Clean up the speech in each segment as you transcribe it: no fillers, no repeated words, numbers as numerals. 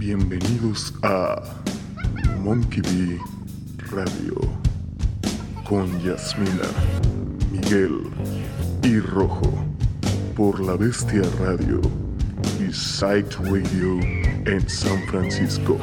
Bienvenidos a Monkey Bee Radio con Yasmina, Miguel y Rojo por La Bestia Radio y Psyched Radio en San Francisco.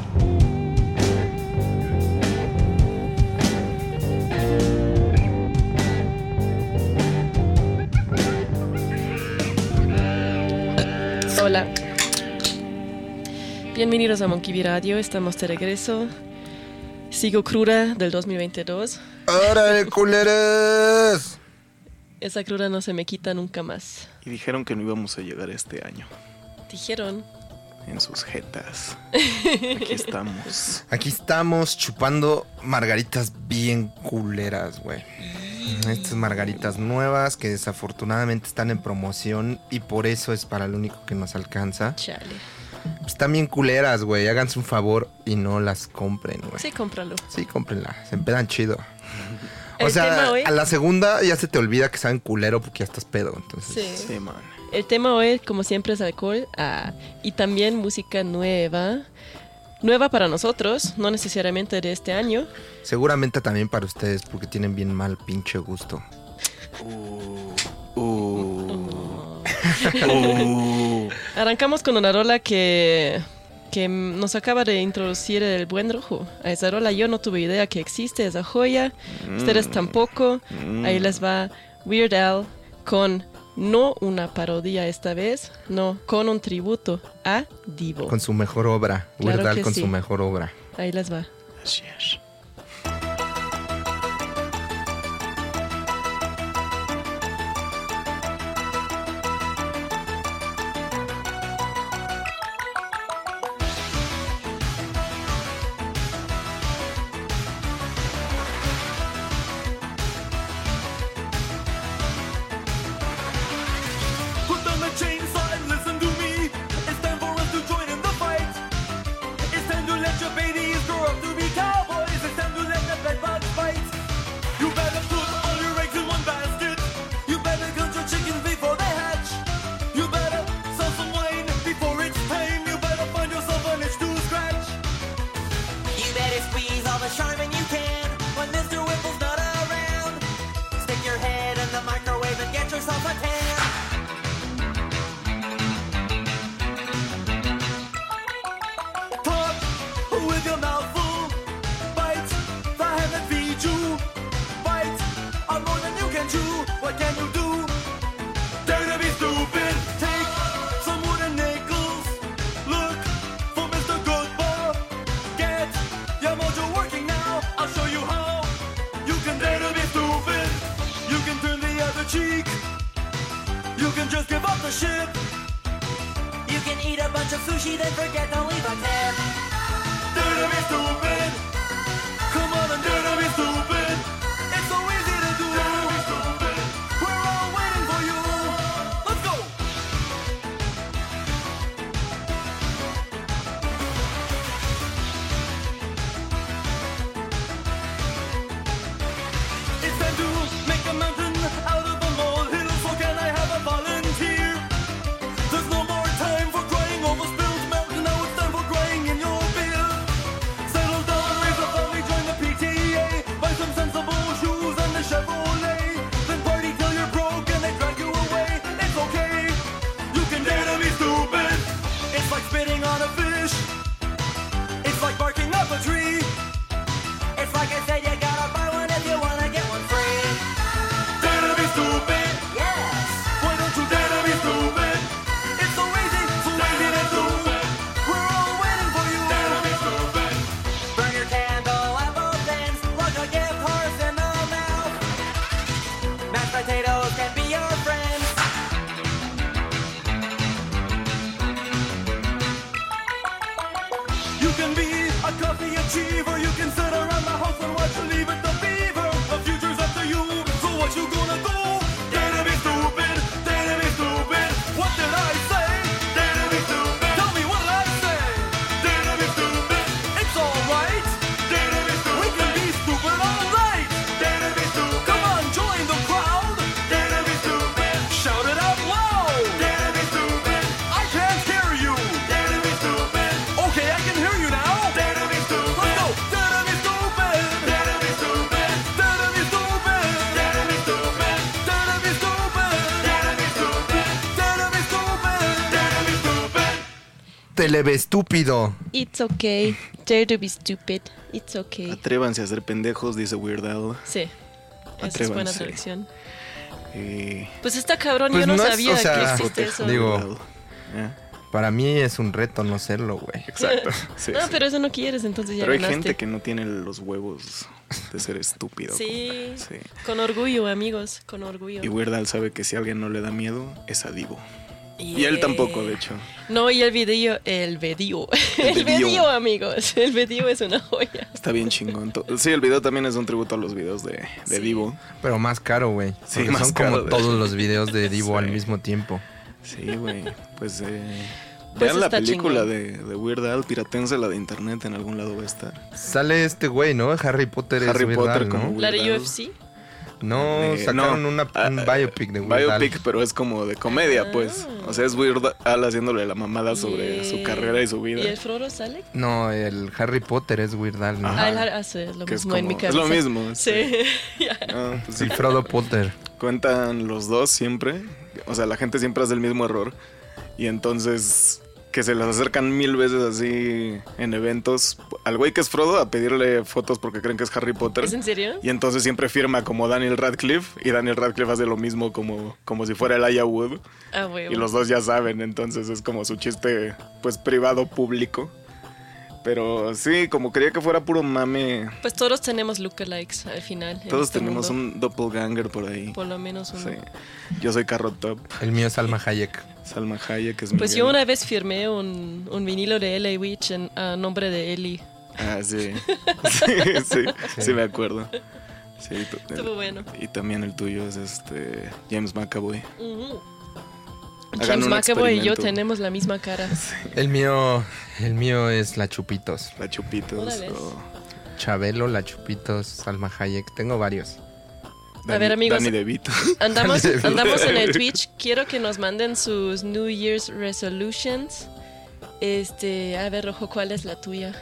Hola. Bienvenidos a Monkey Bee Radio, estamos de regreso. Sigo cruda del 2022. ¡Órale, culeros! Esa cruda no se me quita nunca más. Y dijeron que no íbamos a llegar este año. Dijeron. En sus jetas. Aquí estamos. Aquí estamos chupando margaritas bien culeras, güey. Estas margaritas nuevas que desafortunadamente están en promoción y por eso es para lo único que nos alcanza. Chale. Pues están bien culeras, güey. Háganse un favor y no las compren, güey. Sí, cómpralo. Sí, cómprenlas. Se empedan chido. O El sea, tema hoy- a la segunda ya se te olvida que saben culero porque ya estás pedo. Entonces, Sí. Sí, man. El tema hoy, como siempre, es alcohol. Y también música nueva. Nueva para nosotros, no necesariamente de este año. seguramente también para ustedes porque tienen bien mal pinche gusto. Arrancamos con una rola que nos acaba de introducir el buen Rojo. A esa rola yo no tuve idea que existe, esa joya. Ustedes tampoco. Ahí les va Weird Al con no una parodia esta vez, no, con un tributo a Divo. Con su mejor obra. Claro Weird Al que con sí. su mejor obra. Ahí les va. Así es. Put down the chainsaw and listen to me. It's time for us to join in the fight. It's time to let your babies grow up to be cowboys. It's time to let the bedbugs fight. You better put all your eggs in one basket. You better count your chickens before they hatch. You better sell some wine before it's time. You better find yourself an itch to scratch. You better squeeze all the charmin you can when Mr. Whipple's not around. Stick your head in the microwave and get yourself a tan. Talk with your mouth full. Bite the hand that feeds you. Bite on more than you can chew. What can you do? Dare to be stupid. Take some wooden nickels. Look for Mr. Goodbar. Get your mojo working now. I'll show you how. You can dare to be stupid. You can turn the other cheek. You can just give up the ship. You can eat a bunch of sushi, then forget to leave a tip. Dare to be stupid. Come on and dare to be stupid. It's so easy to do. Dare to be stupid. We're all waiting for you. Let's go. It's time to make a mountain out of a molehill. So can I have a volunteer? There's no more time for crying over spilled milk. Now it's time for crying in your beer. Settle down, raise a family, join the PTA. Buy some sensible shoes and a Chevrolet. Then party till you're broke and they drag you away. It's okay, you can dare to be stupid. It's like spitting on a fish. It's like barking up a tree. It's like I said, you gotta buy one if you wanna get one free. Dare to be stupid. Yes! Why don't you dare to be stupid? It's so easy to do. We're all waiting for you. Dare to be stupid. Burn your candle at both ends. Plug a gift horse in the mouth. Mashed potatoes can be your friends. You can be a coffee achiever. You can sit around the house and watch Leave It to Beaver. The future's up to you. So what you gonna do? Dare to be stupid. Dare to be stupid. What did I say? Dare to be stupid. Tell me what did I say? Dare to be stupid. It's alright. Dare to be stupid. We can be stupid all night. Dare to be stupid. Come on, join the crowd. Dare to be stupid. Shout it out loud. Dare to be stupid. I can't hear you. Dare to be stupid. Okay. te le ve estúpido. It's okay. Dare to be stupid. It's okay. Atrévanse a ser pendejos, dice Weird Al. Sí. Esa es buena Atrévanse. traducción. Eh, Pues está cabrón, Pues yo no no es, sabía o sea, que existe eso. digo- Weird Al. Para mí es un reto no serlo, güey. Exacto. Sí, No, sí. pero eso no quieres, entonces ya Pero hay ganaste. gente que no tiene los huevos de ser estúpido. Sí. Sí. Con orgullo, amigos, con orgullo. Y Weird Al sabe que si a alguien no le da miedo, es a Divo. Y él tampoco, de hecho. No, y el video, el video, amigos, el video es una joya. Está bien chingón. Sí, el video también es un tributo a los videos de Sí. Divo. Pero más caro, güey. Sí, Porque más son caro, como de todos hecho. los videos de Divo Sí. al mismo tiempo. Sí, güey. Pues, Pues vean la está película chingón. de Weird Al, piratense la de internet, en algún lado va a estar. Sale este güey, ¿no? Harry Potter Harry es Weird Potter Al, como ¿no? Weird La de Al. UFC. No, sacaron un biopic de Weird Al. Biopic, pero es como de comedia, pues. O sea, es Weird Al haciéndole la mamada sobre su carrera y su vida. ¿Y el Frodo sale? No, el Harry Potter es Weird Al, ¿no? Ajá. Es lo Que es mismo en mi como- cabeza. es lo mismo. Sí. Ya. Ah, pues sí. El Frodo Potter. Cuentan los dos siempre. O sea, la gente siempre hace el mismo error. Y entonces que se les acercan 1000 veces así en eventos al güey que es Frodo a pedirle fotos porque creen que es Harry Potter. ¿Es en serio? Y entonces siempre firma como Daniel Radcliffe. Y Daniel Radcliffe hace lo mismo como si fuera Elijah Wood. Ah, huevo. Y los dos ya saben. Entonces es como su chiste pues privado público. Pero sí, como quería que fuera puro mame. Pues todos tenemos lookalikes al final. en Todos este tenemos mundo. un doppelganger por ahí. Por lo menos uno. Sí. Yo soy Carrot Top. El mío es Salma Hayek. Salma Hayek es Pues Miguel. yo una vez firmé un vinilo de LA Witch a nombre de Ellie. Ah, sí. Sí, me acuerdo. Sí, Estuvo bueno. Y también el tuyo es James McAvoy. Ujú. Hagan James un McAvoy y yo experimento. tenemos la misma cara. El mío es La Chupitos. La Chupitos. Órale. o Chabelo, La Chupitos, Salma Hayek. Tengo varios. A ver, amigos. Danny DeVito. Andamos en el Twitch. Quiero que nos manden sus New Year's resolutions. A ver, Rojo, ¿cuál es la tuya?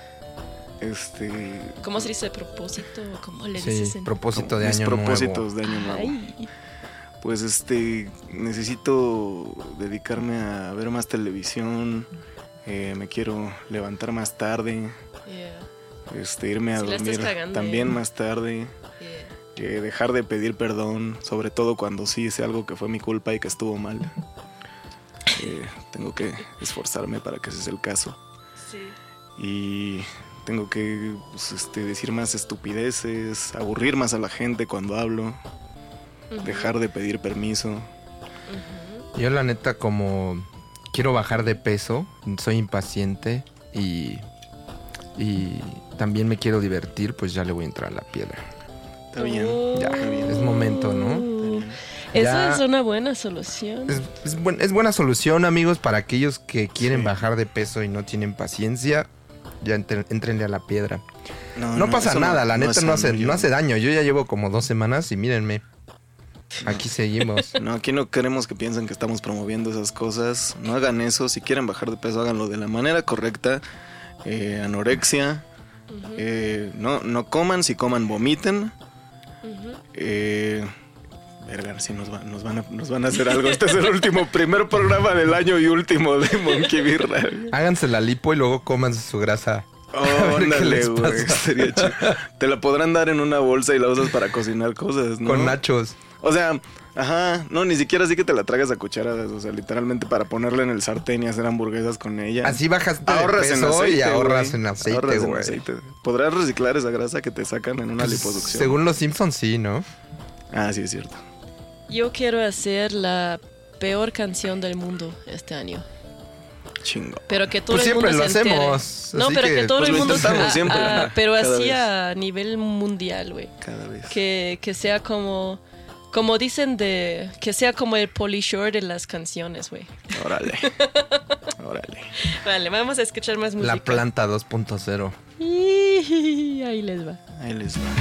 ¿Cómo se dice propósito? ¿Cómo le Sí, dices? propósito de mis año propósitos nuevo. de año nuevo. Ay, Pues necesito dedicarme a ver más televisión. Me quiero levantar más tarde. yeah, Irme a Sí la estás dormir cagando, también más tarde. yeah. Dejar de pedir perdón, sobre todo cuando sí hice algo que fue mi culpa y que estuvo mal. Tengo que esforzarme para que ese sea el caso. Sí. Y tengo que pues, decir más estupideces, aburrir más a la gente cuando hablo, Ujú, dejar de pedir permiso. ujú. Yo la neta como quiero bajar de peso, soy impaciente y también me quiero divertir, pues ya le voy a entrar a la piedra. Está bien, Ya, está bien. es momento, ¿no? Está bien. Esa Ya- es una buena solución. Es buena solución, amigos, para aquellos que quieren Sí. bajar de peso y no tienen paciencia. Ya entrenle a la piedra. No, No pasa eso nada, la neta es no hace, sano, no hace daño. Yo ya llevo como 2 semanas y mírenme. Aquí seguimos. No, aquí no queremos que piensen que estamos promoviendo esas cosas. No hagan eso. Si quieren bajar de peso, háganlo de la manera correcta. Anorexia. No coman. Si coman, vomiten. Ujú. Verga, si nos van a hacer algo. Este es el primer programa del año y último de Monkey Birra. Háganse la lipo y luego coman su grasa. Oh, ver qué ándale, les güey. pasa. Sería chido. Te la podrán dar en una bolsa y la usas para cocinar cosas, ¿no? Con nachos. O sea, ajá, no, ni siquiera así que te la tragas a cucharadas. O sea, literalmente para ponerla en el sartén y hacer hamburguesas con ella. Así bajas de Ahorras en peso aceite, y ahorras güey. en aceite, Ahorras en güey. aceite. ¿Podrás reciclar esa grasa que te sacan en una Pues, liposucción? según los Simpsons, sí, ¿no? Ah, sí, es cierto. Yo quiero hacer la peor canción del mundo este año. Chingo. Pero que todo Pues el mundo siempre lo se entere. hacemos, No, así pero que, que todo pues, el lo mundo intentamos siempre, ajá, pero cada así vez. a nivel mundial, güey. Cada vez. Que sea como dicen que sea como el Polishore de las canciones, güey. Órale. Órale. Vale, vamos a escuchar más música. La planta 2.0. Ahí les va. Ahí les va.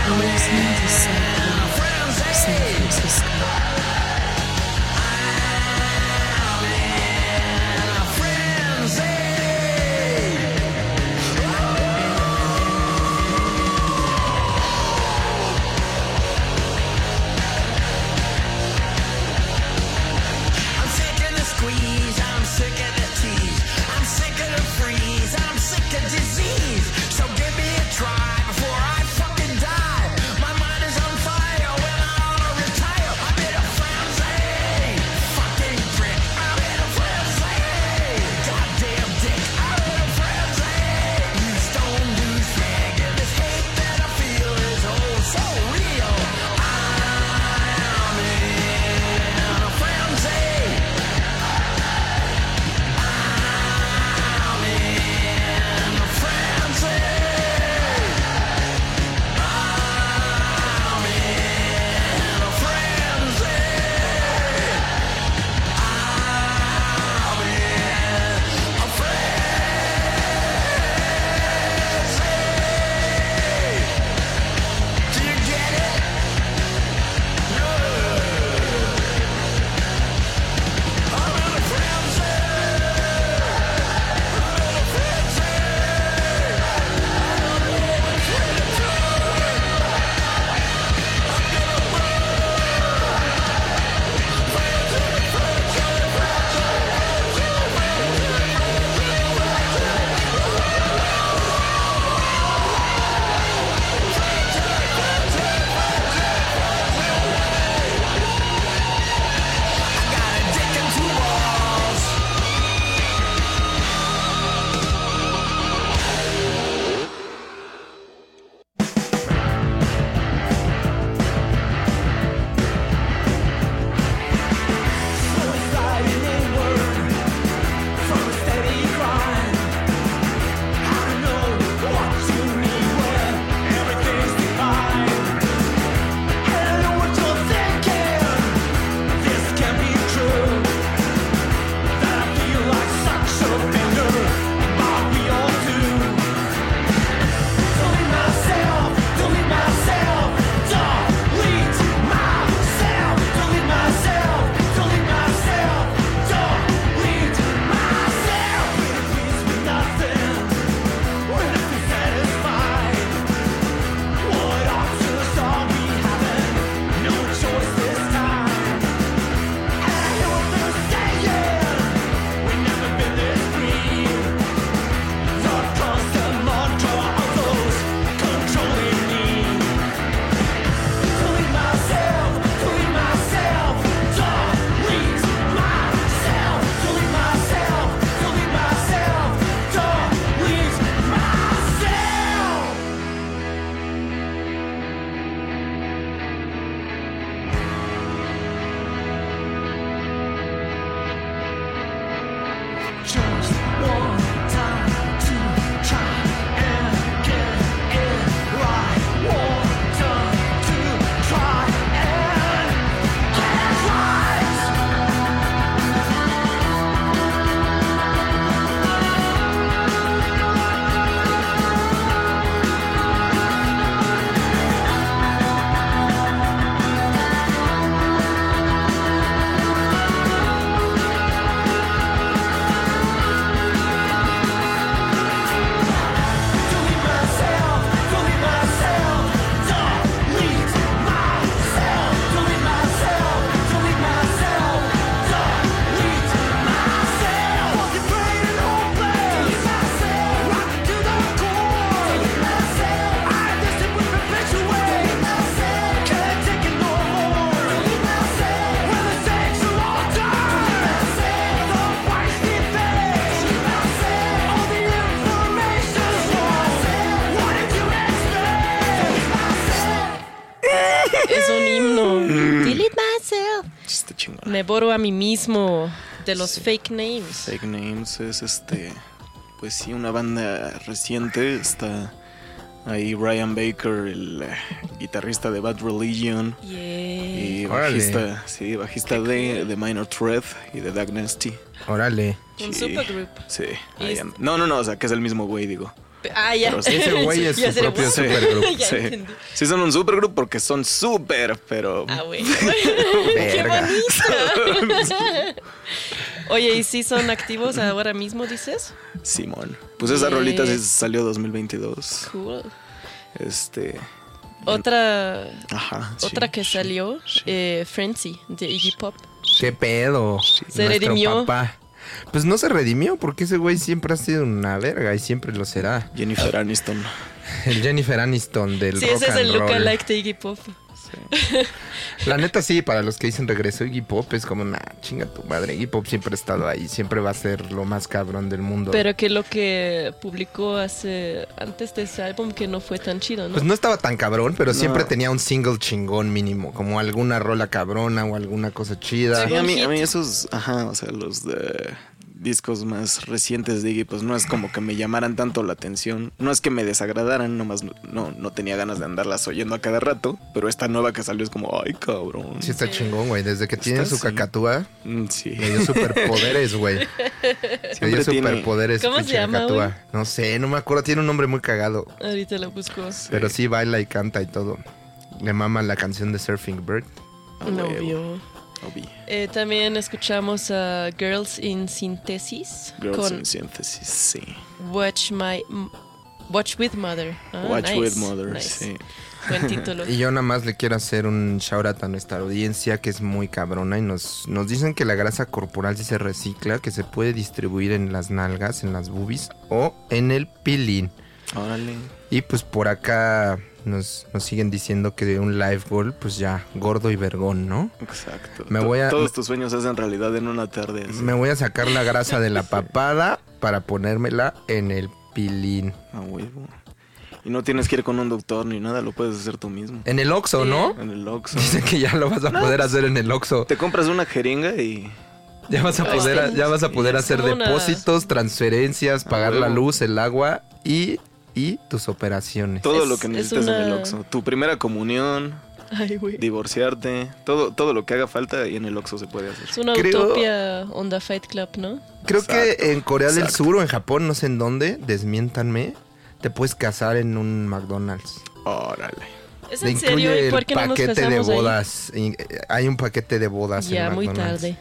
listening to Cyclone San Francisco. I'm sick of the squeeze, I'm sick of the tease, I'm sick of the freeze, I'm sick of disease. So give me a try before I fucking die. My mind is on fire when I wanna retire. I'm in a frenzy, fucking prick. I'm in a frenzy, goddamn dick. I'm in a frenzy. You stone douchebag, and this hate that I feel is oh so real. I'm in a frenzy. Es un himno. Delete myself. Está chingón. Me borro a mí mismo de los fake names. Fake Names es pues sí, una banda reciente. Está ahí Ryan Baker, el guitarrista de Bad Religion. Y bajista, sí, bajista de Minor Threat y de Dag Nasty. Órale. Un Sí, supergroup. Sí. Y ahí no, o sea, que es el mismo güey, digo. Ya. Pero sí, Ese güey es Ya su sé, propio wow. supergrupo. Ya Sí. entendí. Sí son un supergrupo porque son súper, pero... Bueno. ¡Qué Verga. bonito! Oye, ¿y si son activos ahora mismo, dices? Simón. Pues esa Yeah. rolita sí salió 2022. Cool. Ajá. Otra sí, que sí, salió, sí. Frenzy, de Iggy Pop. ¿Qué pedo? Se Nuestro redimió. papá. Pues no se redimió porque ese güey siempre ha sido una verga y siempre lo será. Jennifer Aniston. El Jennifer Aniston del Sí, rock ese es and el roll. lookalike de Iggy Pop. La neta sí, para los que dicen regresó Iggy Pop es como, nah, chinga tu madre. Iggy Pop siempre ha estado ahí, siempre va a ser lo más cabrón del mundo. Pero que lo que publicó antes de ese álbum que no fue tan chido, ¿no? Pues no estaba tan cabrón, pero No. siempre tenía un single chingón mínimo, como alguna rola cabrona o alguna cosa chida. Sí, a mí hit. esos, ajá, o sea, los de discos más recientes de Iggy, pues no es como que me llamaran tanto la atención. No es que me desagradaran, nomás no tenía ganas de andarlas oyendo a cada rato. Pero esta nueva que salió es como, ay, cabrón. Sí está chingón, güey. Desde que tiene su sí. cacatúa, Sí. le dio superpoderes, güey. Le dio Siempre tiene- superpoderes, ¿Cómo se pinche llama, cacatúa. güey? No sé, no me acuerdo. Tiene un nombre muy cagado. Ahorita lo busco. Pero sí baila y canta y todo. Le mama la canción de Surfing Bird. A No huevo. vio. Obvio. También escuchamos a Girls in Synthesis Girls con in Synthesis, sí. Watch with Mother. Ah, Watch nice, with Mother, nice. sí. Buen título. Y yo nada más le quiero hacer un shout out a nuestra audiencia que es muy cabrona y nos dicen que la grasa corporal sí se recicla, que se puede distribuir en las nalgas, en las boobies o en el pilín. Órale. Y pues por acá nos siguen diciendo que un live goal, pues ya, gordo y vergón, ¿no? Exacto. Me voy a- Todos tus sueños se hacen realidad en una tarde. así. Me voy a sacar la grasa de la papada para ponérmela en el pilín. A huevo. Y no tienes que ir con un doctor ni nada, lo puedes hacer tú mismo. En el Oxxo, ¿no? En el Oxxo. Dicen que ya lo vas a poder hacer en el Oxxo. Te compras una jeringa y... Ya vas a poder hacer como una- depósitos, transferencias, pagar la huevo. luz, el agua y tus operaciones. Todo Es- lo que es necesites en el una- Oxxo. Tu primera comunión, Ay, güey. divorciarte, todo lo que haga falta y en el Oxxo se puede hacer. Es una Creo- utopia onda Fight Club, ¿no? Creo que Exacto, en Corea del exacto. Sur o en Japón, no sé en dónde, desmiéntanme, te puedes casar en un McDonald's. Órale. ¿Es Te en serio? incluye ¿Y el por qué no nos paquete de casamos ahí? bodas. Hay un paquete de bodas Ya, en muy McDonald's. tarde.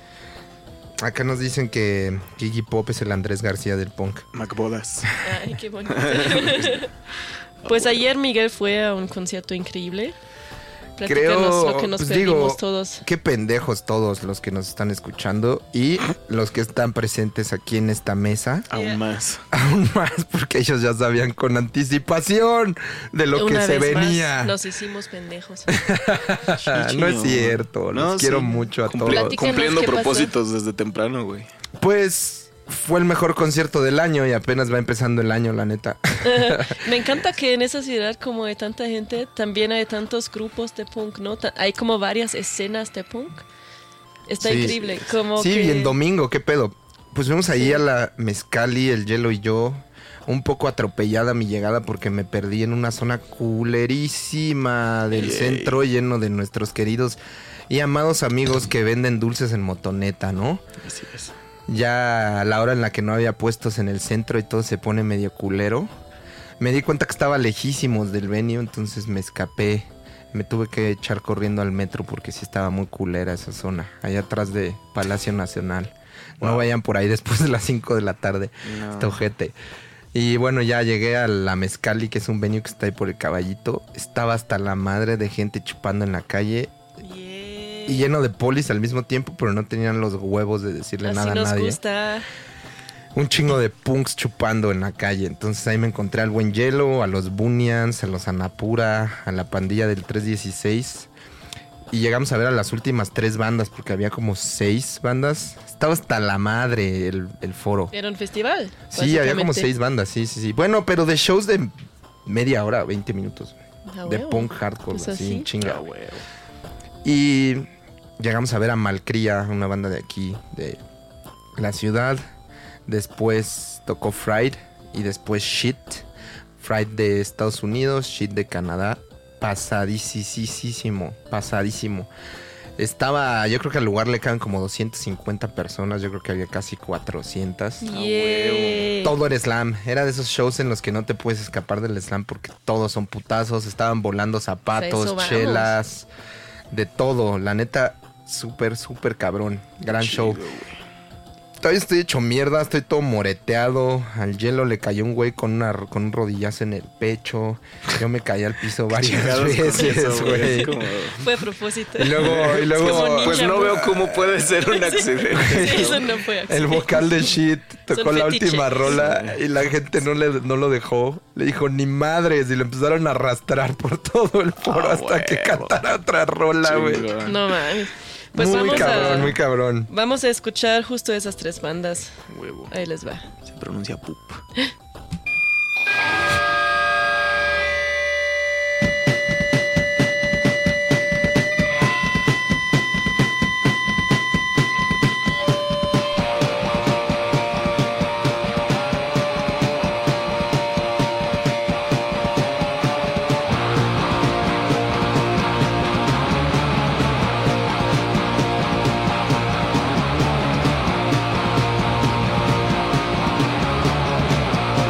Acá nos dicen que Iggy Pop es el Andrés García del punk. McBodas. Ay, qué bonito. Pues ayer Miguel fue a un concierto increíble. Platícanos lo que nos pues perdimos digo, todos. qué pendejos todos los que nos están escuchando y los que están presentes aquí en esta mesa. Aún más. Aún más porque ellos ya sabían con anticipación de lo que Una se vez más, venía. nos hicimos pendejos. No es cierto, No, los quiero sí. mucho a Cumpli- todos. Platícanos Cumpliendo qué pasó. propósitos desde temprano, güey. Pues fue el mejor concierto del año y apenas va empezando el año, la neta. Me encanta que en esa ciudad, como hay tanta gente, también hay tantos grupos de punk, ¿no? Hay como varias escenas de punk. Está Sí. increíble. Como Sí, que... y en domingo, ¿qué pedo? Pues fuimos ahí a la Mezcali, el Hielo y yo. Un poco atropellada mi llegada porque me perdí en una zona culerísima del Yay. centro lleno de nuestros queridos y amados amigos que venden dulces en motoneta, ¿no? Así es. Ya a la hora en la que no había puestos en el centro y todo se pone medio culero. Me di cuenta que estaba lejísimos del venue, entonces me escapé. Me tuve que echar corriendo al metro porque sí estaba muy culera esa zona, allá atrás de Palacio Nacional. No Wow. vayan por ahí después de las 5 de la tarde. No. Está ojete. Y bueno, ya llegué a la Mezcali, que es un venue que está ahí por el Caballito. Estaba hasta la madre de gente chupando en la calle Yeah. y lleno de polis al mismo tiempo, pero no tenían los huevos de decirle Así nada a nos nadie. gusta. Un chingo de punks chupando en la calle. Entonces ahí me encontré al Buen Hielo, a los Bunians, a los Anapura, a la pandilla del 316. Y llegamos a ver a las últimas 3 bandas, porque había como 6 bandas. Estaba hasta la madre el foro. Era un festival. Sí, había como básicamente. 6 bandas, sí. Bueno, pero de shows de media hora, 20 minutos. Ah, De huevo. punk hardcore, Pues así, así. chinga. Ah, güey. Y llegamos a ver a Malcría, una banda de aquí, de la ciudad. Después tocó Fried y después Shit. Fried de Estados Unidos, Shit de Canadá. Pasadísimo. Yo creo que al lugar le caben como 250 personas, yo creo que había casi 400. Yeah. Todo era slam, era de esos shows en los que no te puedes escapar del slam porque todos son putazos, estaban volando zapatos, Eso vamos. chelas, de todo, la neta, súper, súper cabrón, gran show. Todavía estoy hecho mierda, estoy todo moreteado. Al Hielo le cayó un güey con un rodillazo en el pecho. Yo me caí al piso varias Chingados con veces, eso, güey. güey. Es como- Fue a propósito. Y luego, como ninja. Pues no veo cómo puede ser un accidente. Sí, eso no fue el accidente. vocal de Shit tocó Son la fetiches. última rola y la gente no lo dejó. Le dijo, ni madres. Y lo empezaron a arrastrar por todo el foro hasta que huevo. cantara otra rola, güey. Chingón. No mames. Pues muy vamos cabrón, a muy cabrón. vamos a escuchar justo esas 3 bandas. Huevo. Ahí les va. Se pronuncia pup. Thank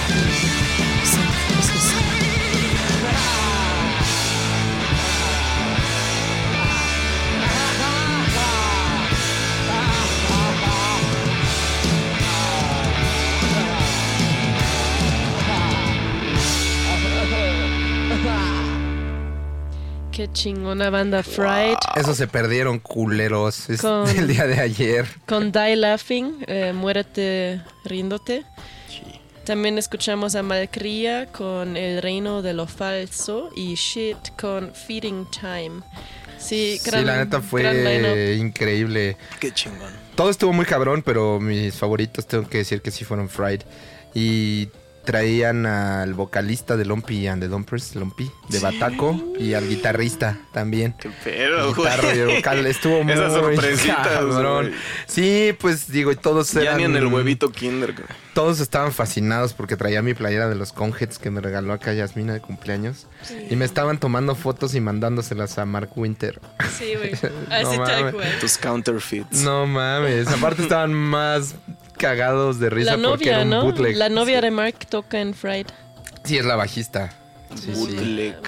This is Qué chingona banda Fried. Eso se perdieron, culeros. Es Con- el día de ayer. Con Die Laughing, Muérete riéndote. También escuchamos a Malcria con El reino de lo falso y Shit con Feeding Time. Sí, Sí, la neta gran fue line-up. increíble. Qué chingón. Todo estuvo muy cabrón, pero mis favoritos tengo que decir que sí fueron Fried. Y traían al vocalista de Lumpy and the Dumpers, Lumpy, de Bataco, y al guitarrista también. Qué pedo, güey. Guitarra y vocal, estuvo muy Esas sorpresitas, cabrón. güey. Sí, pues digo, y todos Ya eran... ni en el huevito kinder, güey. Todos estaban fascinados porque traía mi playera de los Conheads que me regaló acá Yasmina de cumpleaños. Y me estaban tomando fotos y mandándoselas a Mark Winter. Sí, güey. No Así tal mames. cual. Tus counterfeits. No mames, aparte estaban más cagados de risa La porque era novia, un ¿no? bootleg. La novia de Mark toca en Fried. Sí, es la bajista. Sí, sí. Bootleg.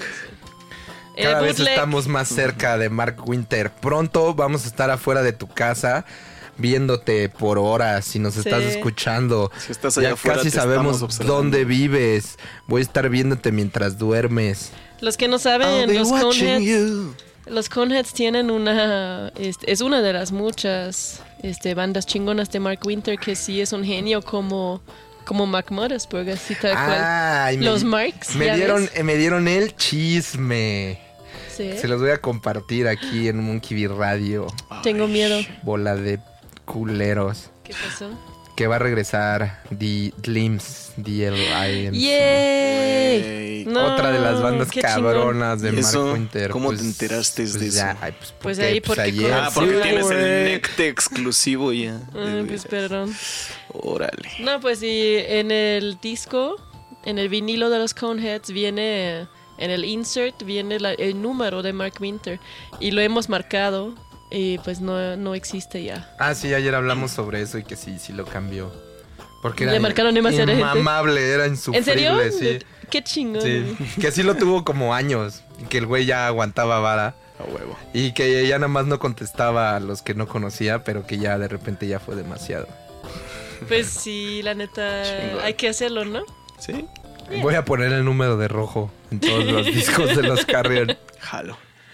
Cada vez Bootleg. estamos más cerca de Mark Winter. Pronto vamos a estar afuera de tu casa viéndote por horas si nos estás escuchando. Si estás allá ya afuera, casi te sabemos estamos observando. dónde vives. Voy a estar viéndote mientras duermes. Los que no I'll saben, be los watching Coneheads, you. los Coneheads tienen una... es una de las muchas bandas chingonas de Mark Winter que sí es un genio como Mac Mothersburg, así tal cual. Ay, Los Marks, me ¿ya dieron, ves? me dieron el chisme. Sí. Se los voy a compartir aquí en Monkey Bee Radio. Tengo miedo. Bola de culeros. ¿Qué pasó? Que va a regresar The Limbs, DLIMS. ¡Yay! Güey. No, Otra de las bandas qué chingón. cabronas de ¿Y Mark eso? Winter. ¿Cómo te enteraste de eso? Ya, Pues ahí porque ayer. Ah, porque Sí, tienes güey. el Necte exclusivo ya. Ay, pues perdón. Órale. No, pues y en el disco, en el vinilo de los Coneheads viene, en el insert viene el número de Mark Winter y lo hemos marcado y pues no existe ya. Ah, sí, ayer hablamos sobre eso y que sí lo cambió. Porque Le era marcaron demasiada gente. inmamable, era ¿En insufrible, serio? sí. Qué chingón. Sí, que sí lo tuvo como años, y que el güey ya aguantaba vara A huevo. y que ya nada más no contestaba a los que no conocía, pero que ya de repente ya fue demasiado. Pues sí, la neta, Chingón. hay que hacerlo, ¿no? ¿Sí? Voy a poner el número de rojo en todos los discos de los Carrion. Jalo.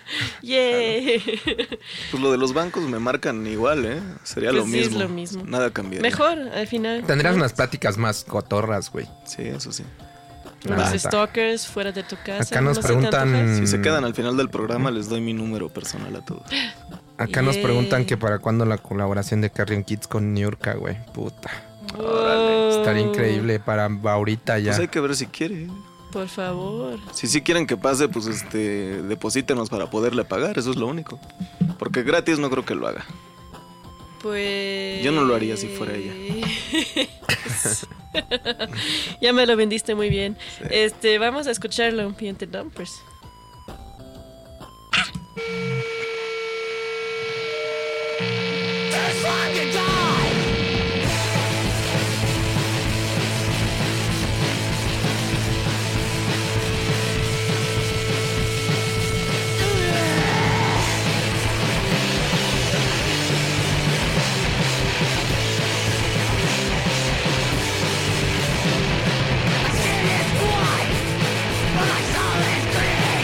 ¡Yay! Pues lo de los bancos me marcan igual, ¿eh? Sería Pues lo sí, es mismo. lo mismo. Nada cambiaría. Mejor, al final. Tendrías ¿no? unas pláticas más cotorras, güey. Sí, eso sí. la Los neta. stalkers fuera de tu casa. Acá nos ¿no se te preguntan- antoja? Si se quedan al final del programa, les doy mi número personal a todos. Acá nos Yay. preguntan que para cuándo la colaboración de Carrion Kids con Niurka, güey. Puta. Wow. Estaría increíble para ahorita ya. Pues hay que ver si quiere. Por favor. Si sí quieren que pase, pues deposítenos para poderle pagar, eso es lo único. Porque gratis no creo que lo haga. Pues. Yo no lo haría si fuera ella. Ya me lo vendiste muy bien. Vamos a escucharlo, Piente Dumpers. But I saw this dream.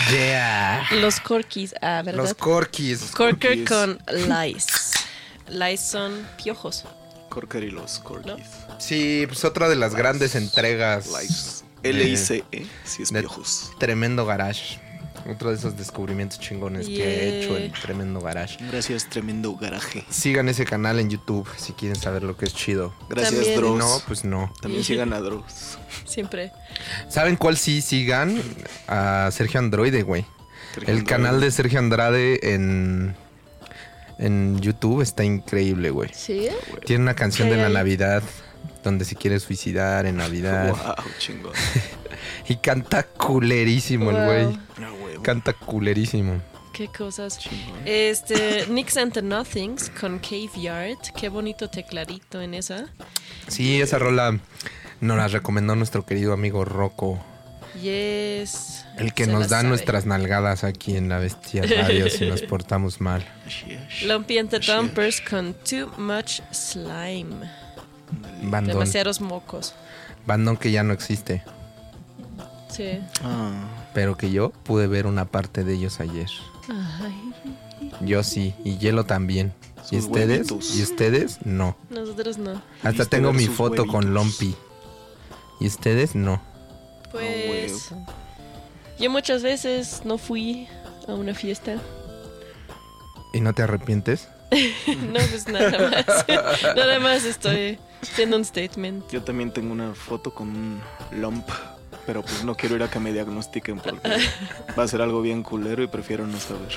Yeah. Los Corkis, ¿verdad? Los Corkis. Corker Corkis. con lice. Lice son piojos. Corker y los Corkis. Sí, pues otra de las grandes entregas. Lice. L-I-C-E, si es de piojos. Tremendo Garage. Otro de esos descubrimientos chingones que he hecho en Tremendo Garage. Gracias, tremendo garaje. Sigan ese canal en YouTube si quieren saber lo que es chido. Gracias, También. Dross. No, pues no. También sigan a Dross. Siempre. ¿Saben cuál sí sigan? A Sergio Androide, güey. Sergio El Andrade. canal de Sergio Andrade en YouTube está increíble, güey. ¿Sí? Tiene una canción ¿Qué de la hay? Navidad donde se quiere suicidar en Navidad. Wow, chingón. Y canta culerísimo el Wow. güey. No, huevo. Canta culerísimo. Qué cosas. Chingón. Nicks and the Nothings con Cave Yard. Qué bonito tecladito en esa. Sí, esa rola nos la recomendó nuestro querido amigo Rocco. Yes. El que Se nos la da sabe. nuestras nalgadas aquí en la Bestia Radio si nos portamos mal. Lumpy and the Dumpers con Too Much Slime. Bandón. Demasiados mocos. Bandón que ya no existe. Sí. Ah, Pero que yo pude ver una parte de ellos ayer. Ay, Yo sí, y Hielo también. ¿Y Sus ustedes? huevitos. ¿Y ustedes? No. nosotros no. Hasta ¿Viste tengo ver mi sus foto con huevitos? Lumpy. ¿Y ustedes? No. Pues yo muchas veces no fui a una fiesta. ¿Y no te arrepientes? No, pues nada más. Nada más estoy haciendo un statement. yo también tengo una foto con un lump, pero pues no quiero ir a que me diagnostiquen porque va a ser algo bien culero y prefiero no saber.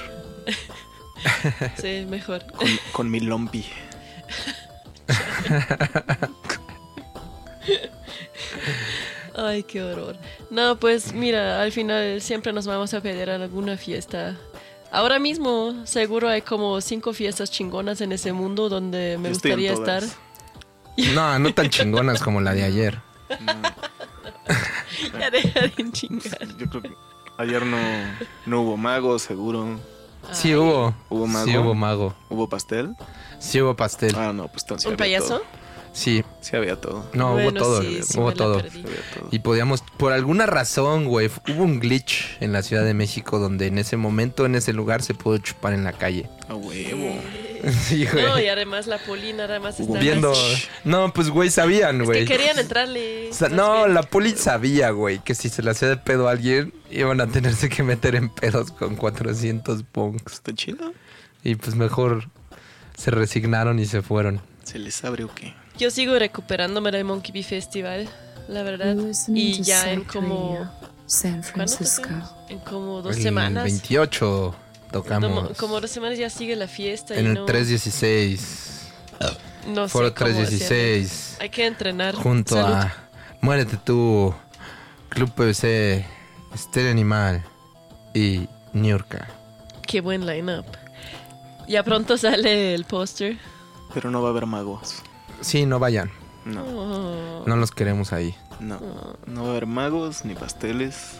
Sí, mejor. Con mi lumpy. Ay, qué horror. No, pues mira, al final siempre nos vamos a pedir a alguna fiesta. Ahora mismo seguro hay como 5 fiestas chingonas en ese mundo donde me Yo estoy en gustaría todas. estar. No, no tan chingonas como la de ayer. Ya deja de chingar. Yo creo que ayer no hubo mago, seguro. Sí Ay, hubo. ¿Hubo mago? Sí hubo mago. ¿Hubo pastel? Sí hubo pastel. Ah, no, pues entonces ¿Un había payaso? todo. Sí. Sí había todo. No, hubo Bueno, todo. sí, sí hubo me la todo. perdí. Sí había todo. Y podíamos, por alguna razón, güey, hubo un glitch en la Ciudad de México donde en ese momento, en ese lugar, se pudo chupar en la calle. A huevo. Sí, güey. No, y además la poli nada más está Viendo. No, pues, güey, sabían, Es güey. que querían entrarle. O sea, más no, bien. la poli sabía, güey, que si se le hacía de pedo a alguien, iban a tenerse que meter en pedos con 400 punks. ¿Está chido? Y pues mejor se resignaron y se fueron. ¿Se les abre o qué? Yo sigo recuperándome del Monkey Bee Festival, la verdad. Listening Y to ya en Psych como... Radio, San ¿Cuándo Francisco. tocamos? En como 2 El semanas. 28 tocamos. Como 2 semanas ya sigue la fiesta. En y el no, 316. no sé Foro cómo hacerle. 316. Hay que entrenar. Junto Salud. a Muérete tú, Club PVC, Estéreo Animal y Niurka. Qué buen line-up. Ya pronto sale el póster. Pero no va a haber magos. Sí, no vayan. No, Oh. No los queremos ahí. no. No va a haber magos ni pasteles.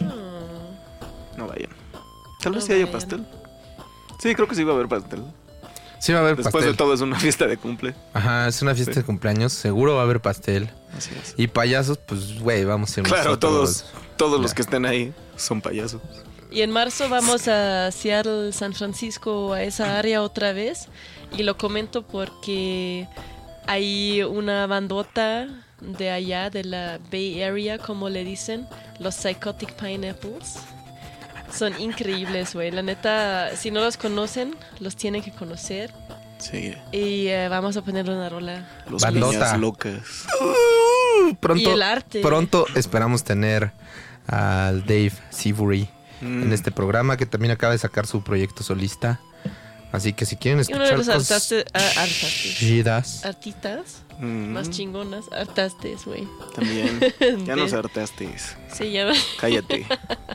No vayan. Tal No vez sí haya vayan. pastel. Sí, creo que sí va a haber pastel. Sí va a haber Después pastel. de todo es una fiesta de cumple. Ajá, es una fiesta Sí. de cumpleaños. Seguro va a haber pastel. Así es. Y payasos, pues, güey, vamos a ser Claro, nosotros. todos los Ya. que estén ahí son payasos. Y en marzo vamos a Seattle, San Francisco, a esa área otra vez. Y lo comento porque hay una bandota de allá, de la Bay Area, como le dicen, los Psychotic Pineapples. Son increíbles, güey. La neta, si no los conocen, los tienen que conocer. Sí. Y vamos a poner una rola. Los Bandota. niñas locas. Pronto, Y el arte. pronto esperamos tener al Dave Seabury en este programa, que también acaba de sacar su proyecto solista. Así que si quieren Y uno de escuchar los cosas chidas, artistas Mm, más chingonas, artastes, güey. También. Ya nos De- hartaste. Se llama. Cállate.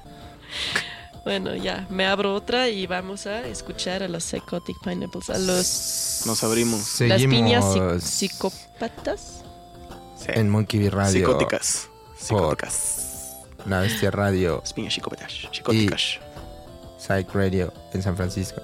Bueno, ya, me abro otra y vamos a escuchar a los Psychotic Pineapples, a los Nos abrimos. las piñas seguimos psicópatas. Sí. en Monkey Bee Radio, Psicóticas. Psicóticas. La Bestia Radio, Las piñas psicópatas. Psicóticas. Psych Radio en San Francisco.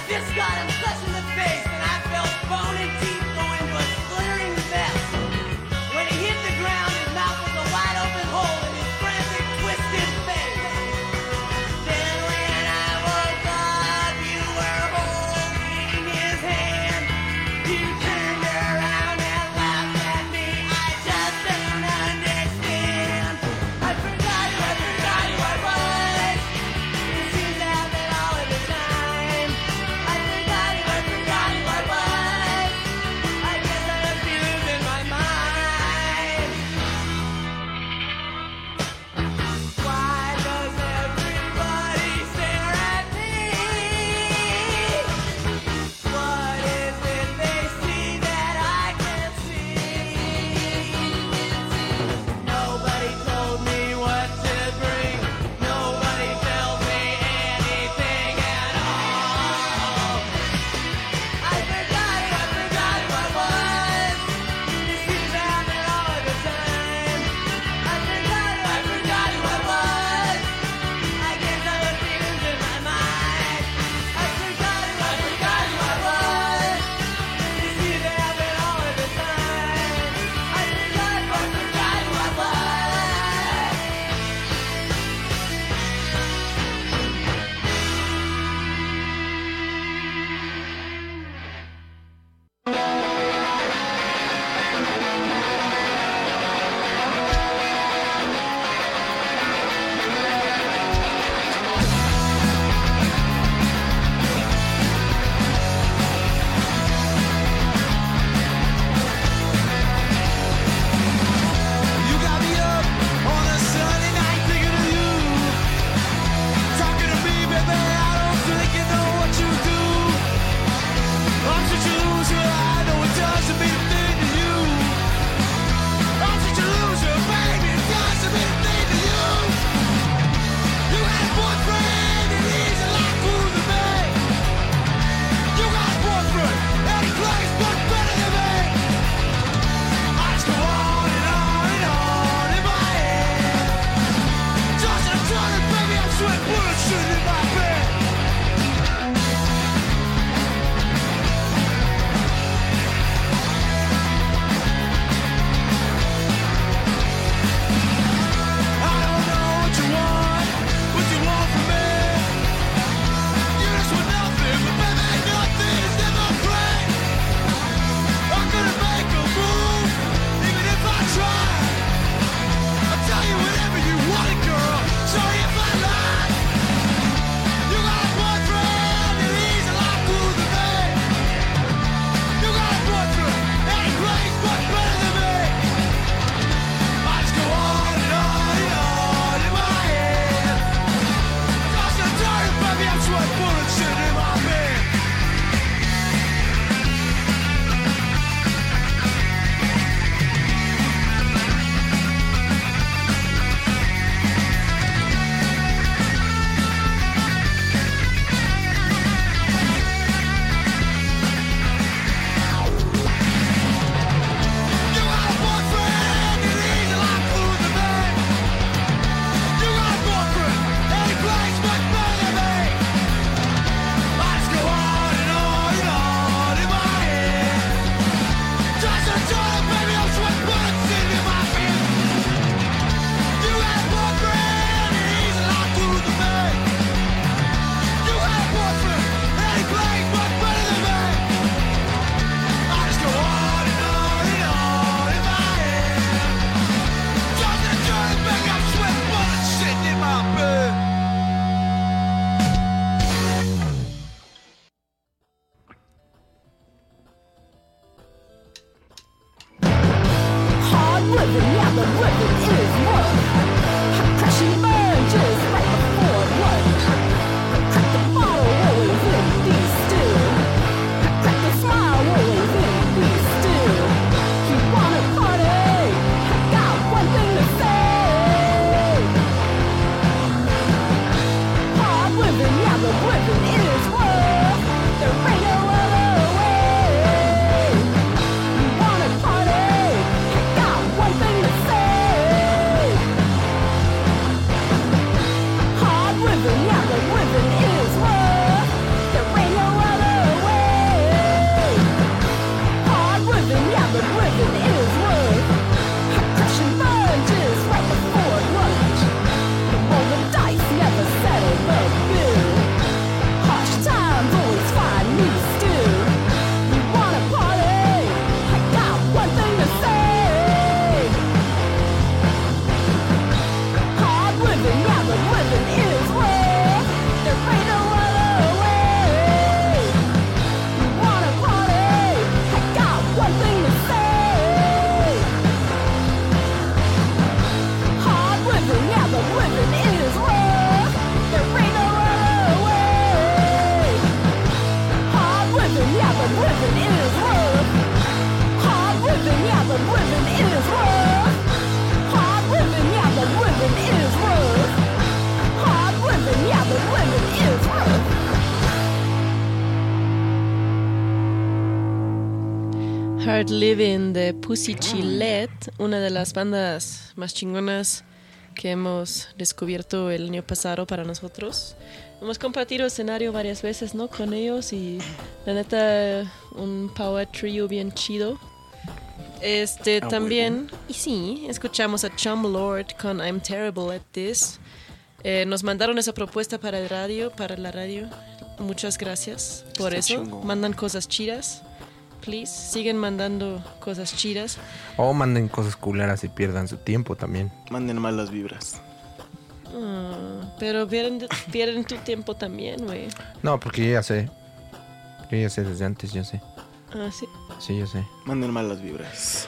This got him such in the face, and I felt bone and teeth go into a slittering vest. When he hit the ground, his mouth was a wide open hole in his frantic, twisted face. Then when I woke up, you were holding his hand. You turned around and laughed at me. I just don't understand. I forgot who I was. It seems to happen all of the time. I forgot who I was. I guess I have feelings in my mind. Why does everybody stare at me? What is it they see that I can't see? Nobody told me what to bring. Nobody tells me anything at all. I forgot who I was. It seems to happen all of the time. I forgot who I was. I guess I have feelings in my mind. I forgot who I was. It seems to happen all of the time. I forgot who I was. You got me up on a Sunday night thinking of you. Talking to me, baby, I don't think you know what you do. I'm such a loser, I know it doesn't mean a thing to you. I'm such a loser, baby, it doesn't mean a thing to you. You had a boyfriend and he's a lot cooler than me. You got a boyfriend and he plays much better than me. I just go on and on and on in my head. Just a turn it, baby, I'm sweating bullshit in my bed. I don't know what you want from me. You just want nothing, but baby, nothing is never free. I'm gonna make a move, even if I try. I'll tell you whatever you want, girl. Sorry if I lie. You got a boyfriend and he's a lot cooler than me. You got a boyfriend and he plays much better than me. I just go on and on and on in my head. Toss and turn, baby, I'm sweating bullshit in my bed. You got a boyfriend and he's a lot cooler than me. You got a boyfriend and he plays much better than me. I Hard Living de Pussy Chillet, una de las bandas más chingonas que hemos descubierto el año pasado para nosotros. Hemos compartido escenario varias veces, ¿no? Con ellos y la neta un power trio bien chido. También, y sí, escuchamos a Chum Lord con I'm Terrible at This. Nos mandaron esa propuesta para la radio. Muchas gracias por Está eso. chingón. Mandan cosas chidas. Please, siguen mandando cosas chidas. O manden cosas culeras y pierdan su tiempo también. Manden malas vibras. Pero pierden tu tiempo también, güey. No, porque yo ya sé. Yo ya sé desde antes, yo sé. Ah, sí. Sí, yo sé. Manden malas vibras.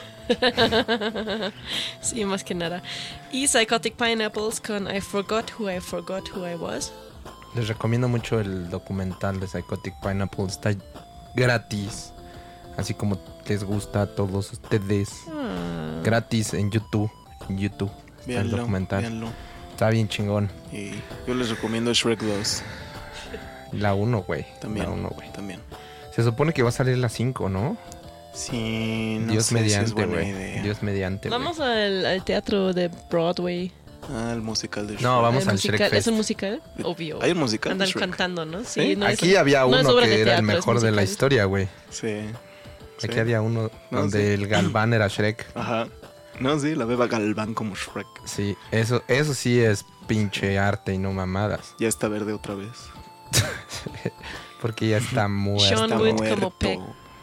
Sí, más que nada. Y Psychotic Pineapples con I Forgot Who I Was. Les recomiendo mucho el documental de Psychotic Pineapple. Está gratis. Así como les gusta a todos ustedes. Gratis en YouTube. En YouTube. Está el Véanlo, documental. véanlo. Está bien chingón. Y yo les recomiendo Shrek 2. La 1, güey. También. La 1, güey. También. Se supone que va a salir la 5, ¿no? Sí, no Dios sé si es mediante, buena güey. idea. Dios mediante, güey. Vamos al teatro de Broadway. Ah, el musical de Shrek. No, vamos El al musical- Shrek Fest. ¿Es un musical? Obvio. ¿Hay un musical de Andan Shrek? cantando, ¿no? Sí, ¿Sí? no es- Aquí había no uno es obra que de era el teatro, es mejor de la musical. historia, güey. Sí. Aquí Sí. había uno No, donde sí. el Galván era Shrek. Ajá. No, sí, la beba Galván como Shrek. Sí, eso sí es pinche arte y no mamadas. Ya está verde otra vez. Porque ya está muerto. Sean Está Wood muerto. como Peck.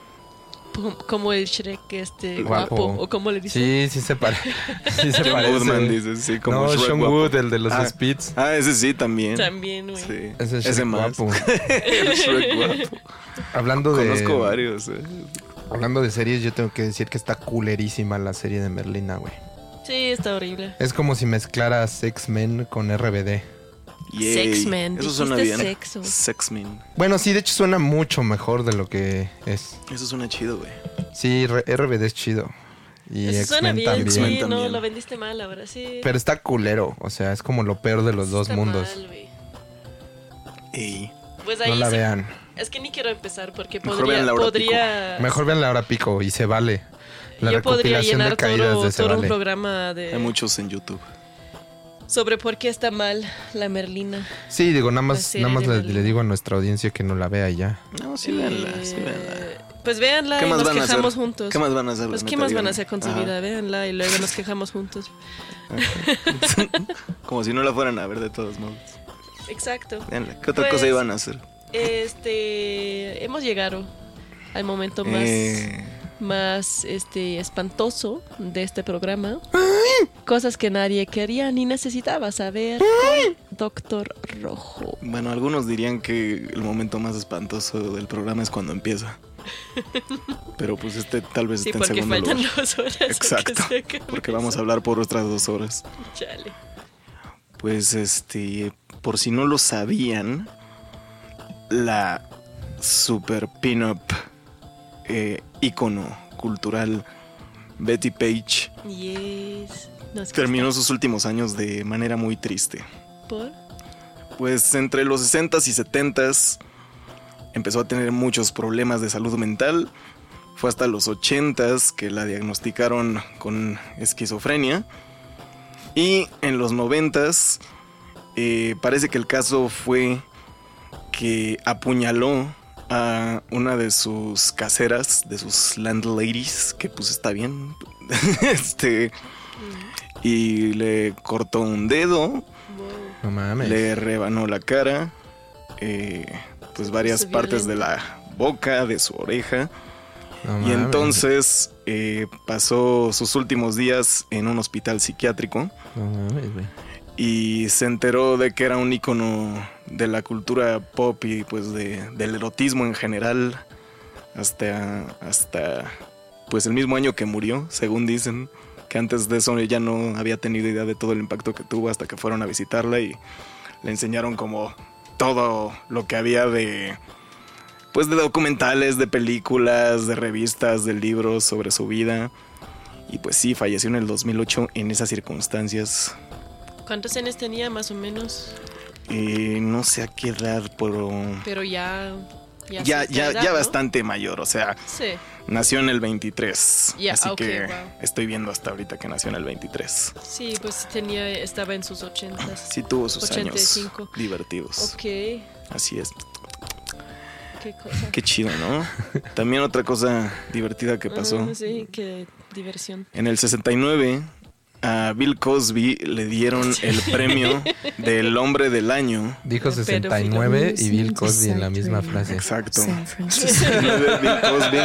Como el Shrek Guapo. guapo. O como le dicen. Sí, sí se, sí se John parece. Woodman dice, sí, como No, Shrek Sean guapo. Wood, el de los Ah. Spits. Ah, ese sí también. También, güey. Sí. Ese es Shrek Ese más. guapo. El Shrek guapo. Hablando Conozco de varios. hablando de series, yo tengo que decir que está culerísima la serie de Merlina, güey. Sí, está horrible. Es como si mezclaras X-Men con RBD. Yay. Sexman, Eso suena dijiste bien. sexo. Sexman. Bueno, sí, de hecho suena mucho mejor de lo que es. Eso suena chido, güey. Sí, RBD es chido. Y Eso suena X-Men bien, también. sí, X-Men no, también. lo vendiste mal ahora, sí. Pero está culero, o sea, es como lo peor de los dos Está mundos. mal, güey. Ey. Pues ahí No la sí- vean. Es que ni quiero empezar porque Mejor vean la hora podría Mejor vean la hora pico y se vale. La yo podría recopilación de llenar caídas todo, de se todo un vale. programa Hay muchos en YouTube. sobre por qué está mal la Merlina. Sí, digo, nada La más, serie nada más de le Merlina. digo a nuestra audiencia que no la vea y ya. No, sí, véanla, sí, véanla. Pues véanla ¿Qué y más nos van a hacer? quejamos juntos. ¿Qué más van a hacer? Pues la qué neta? más van a Díganme. hacer con su Ajá. vida, véanla y luego nos quejamos juntos. Como si no la fueran a ver de todos modos. Exacto. Véanla. ¿Qué otra Pues, cosa iban a hacer? Hemos llegado al momento más espantoso de este programa. Cosas que nadie quería ni necesitaba saber con Doctor Rojo. Bueno, algunos dirían que el momento más espantoso del programa es cuando empieza. Pero pues tal vez Sí, esté en porque segundo faltan lugar. 2 horas. a que Exacto. se acabe Porque vamos a eso. hablar por otras 2 horas. Chale. Pues por si no lo sabían, la super pin-up ícono cultural Betty Page Yes. No, es que terminó sus últimos años de manera muy triste. está por. Pues entre los 60s y 70s empezó a tener muchos problemas de salud mental. Fue hasta los 80s que la diagnosticaron con esquizofrenia. Y en los 90s parece que el caso fue que apuñaló a una de sus caseras, de sus landladies, que pues está bien. Y le cortó un dedo, Wow. No mames. le rebanó la cara, pues varias Es partes de violento. la boca, de su oreja. No Y mames. entonces pasó sus últimos días en un hospital psiquiátrico No mames, güey. y se enteró de que era un ícono de la cultura pop y pues del erotismo en general hasta pues el mismo año que murió, según dicen, que antes de eso ella no había tenido idea de todo el impacto que tuvo hasta que fueron a visitarla y le enseñaron como todo lo que había de pues de documentales, de películas, de revistas, de libros sobre su vida. Y pues sí, falleció en el 2008 en esas circunstancias. ¿Cuántos años tenía más o menos? No sé a qué edad, pero Pero ya Ya bastante mayor, o sea, Sí. nació en el 23. Ya, así ok, que wow. estoy viendo hasta ahorita que nació en el 23. Sí, pues estaba en sus 80s. Sí tuvo sus 85. años divertidos. Ok, Así es. qué cosa. Qué chido, ¿no? También otra cosa divertida que pasó. Sí, qué diversión. En el 69 a Bill Cosby le dieron el premio del hombre del año. Dijo El 69 y Bill pedófilo. Cosby en la misma frase. Exacto. San Francisco. 69 Bill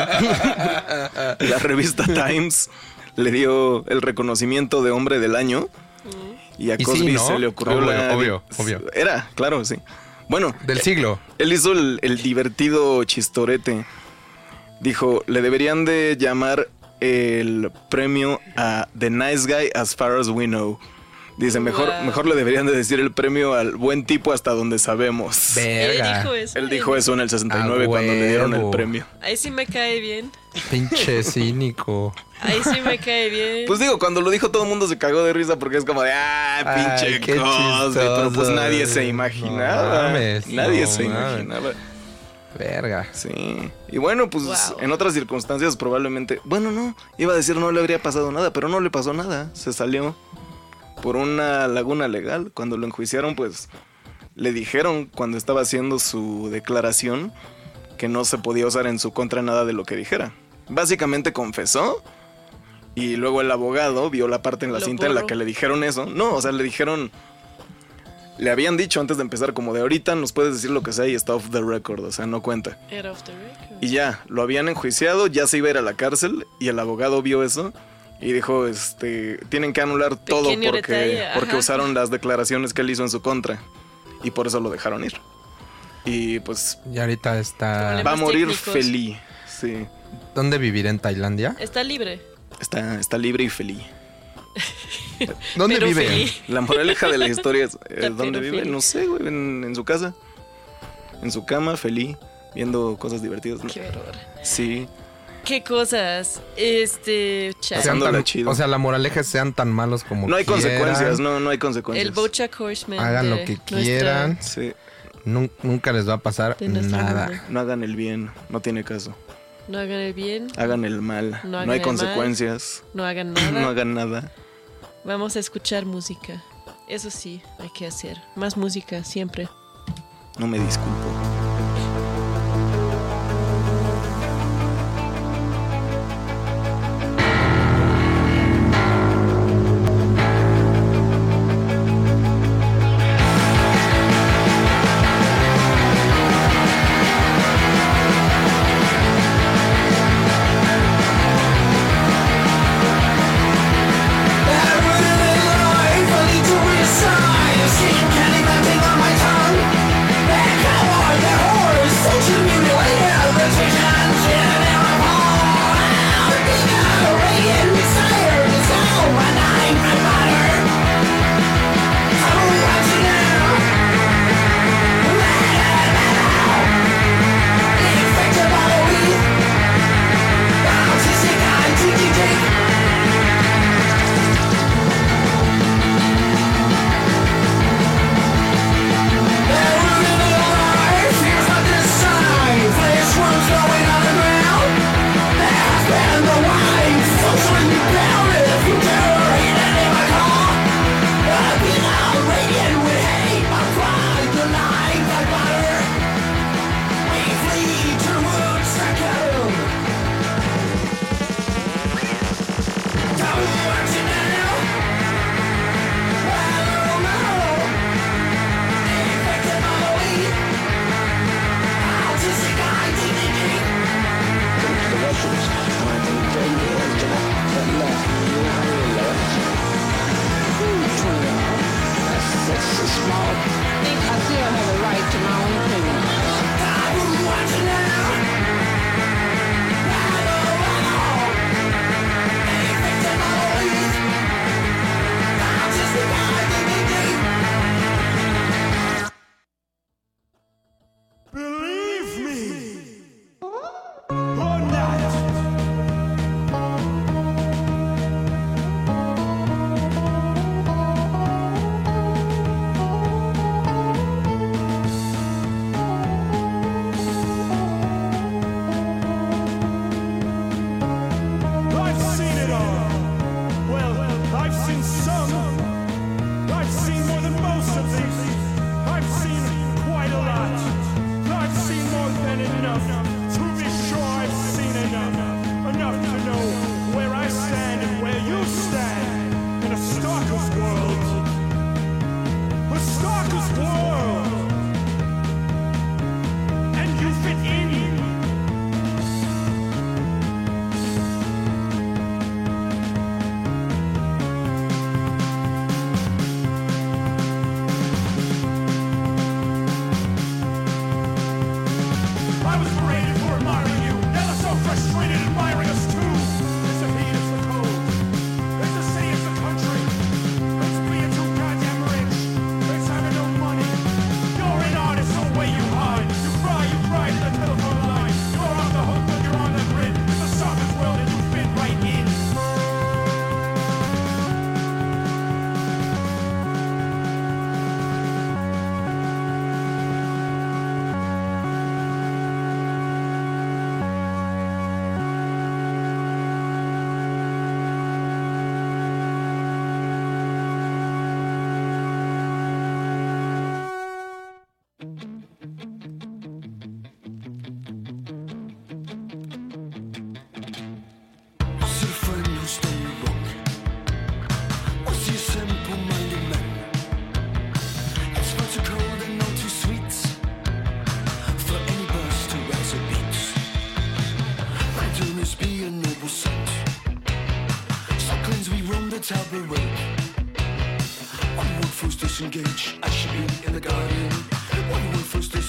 Cosby. La revista Times le dio el reconocimiento de hombre del año. Y a Y sí, Cosby ¿no? se le ocurrió Obvio. Era, claro, sí. Bueno, Del siglo. él hizo el divertido chistorete. Dijo, le deberían de llamar el premio a The Nice Guy as far as we know. Dice, mejor le deberían de decir el premio al buen tipo hasta donde sabemos. Verga. Él dijo eso en el 69 cuando le dieron el huevo. premio. Ahí sí me cae bien. Pinche cínico. Ahí sí me cae bien. Pues digo, cuando lo dijo todo el mundo se cagó de risa porque es como de, pinche Ay, qué Cosby. Pero pues chistoso. nadie se No imaginaba. mames, Nadie no se mames. imaginaba. Verga. Sí. Y bueno, pues Wow. en otras circunstancias probablemente... Bueno, no. Iba a decir no le habría pasado nada, pero no le pasó nada. Se salió por una laguna legal. Cuando lo enjuiciaron, pues le dijeron cuando estaba haciendo su declaración que no se podía usar en su contra nada de lo que dijera. Básicamente confesó y luego el abogado vio la parte en la Lo cinta en la borró. que le dijeron eso. No, o sea, le dijeron... Le habían dicho antes de empezar como de ahorita nos puedes decir lo que sea y está off the record, o sea, no cuenta. Era off the record. Y ya, lo habían enjuiciado, ya se iba a ir a la cárcel y el abogado vio eso y dijo, tienen que anular todo Pequeño porque, detalle, porque ajá. usaron las declaraciones que él hizo en su contra y por eso lo dejaron ir. Y pues Y ahorita está... Problemas va a morir técnicos. feliz, sí. ¿Dónde vivir? ¿En Tailandia? Está libre. Está libre y feliz. ¿Dónde Pero vive? feliz. La moraleja de la historia es, Está ¿dónde vive? feliz. No sé, güey, en su casa. En su cama, feliz, viendo cosas divertidas. ¿no? Qué horror. Sí. ¿Qué cosas? Sean Pasándola tan- chido. o sea, la moraleja es sean tan malos como No hay quieran. consecuencias, no hay consecuencias. El Bojack Horseman. Hagan de lo que nuestra- quieran. Sí, Nunca les va a pasar De nuestro nada. mundo. no hagan el bien, no tiene caso. No hagan el bien, Hagan el mal, No no, hagan hay el consecuencias, no hagan nada. no hagan nada. Vamos a escuchar música. Eso sí, hay que hacer. Más música, siempre. No me disculpo. Candy melting on my tongue. Come on,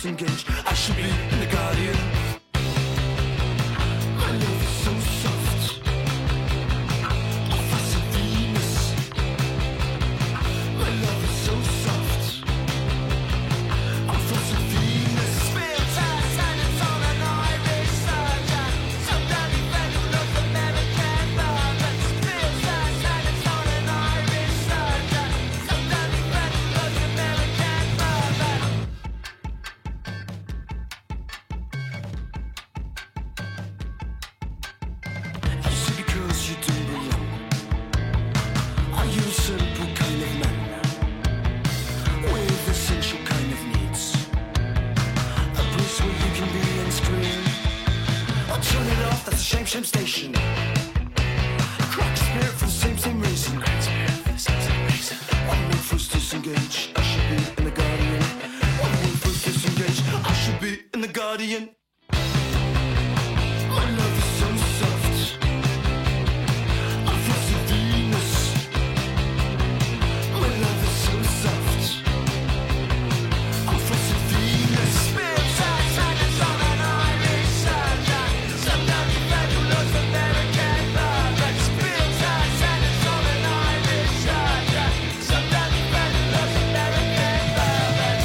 disengage. I should be in the Guardian. My love is so soft. A fuss of Venus. My love is so soft. A fuss of Venus. Spill time, silence on an Irish soldier. Some dirty friend who loves American bourbon. Spill time, silence on an Irish soldier. Some dirty friend who loves American bourbon. You see, because you don't belong. Are you a simple kind of man with essential kind of needs? A place where you can be and scream. I'll turn it off, that's a shame, shame station. Crack spirit for the same reason. I'm first disengage, I should be in the Guardian. I'm first disengage, I should be in the Guardian. My love is so soft. I'm first of Venus. My love is so soft. I'm first of Venus. Spill time, silence on an Irish soldier. Some dirty friend who loves American bourbon. Spill time, silence on an Irish soldier. Some dirty friend who loves American bourbon.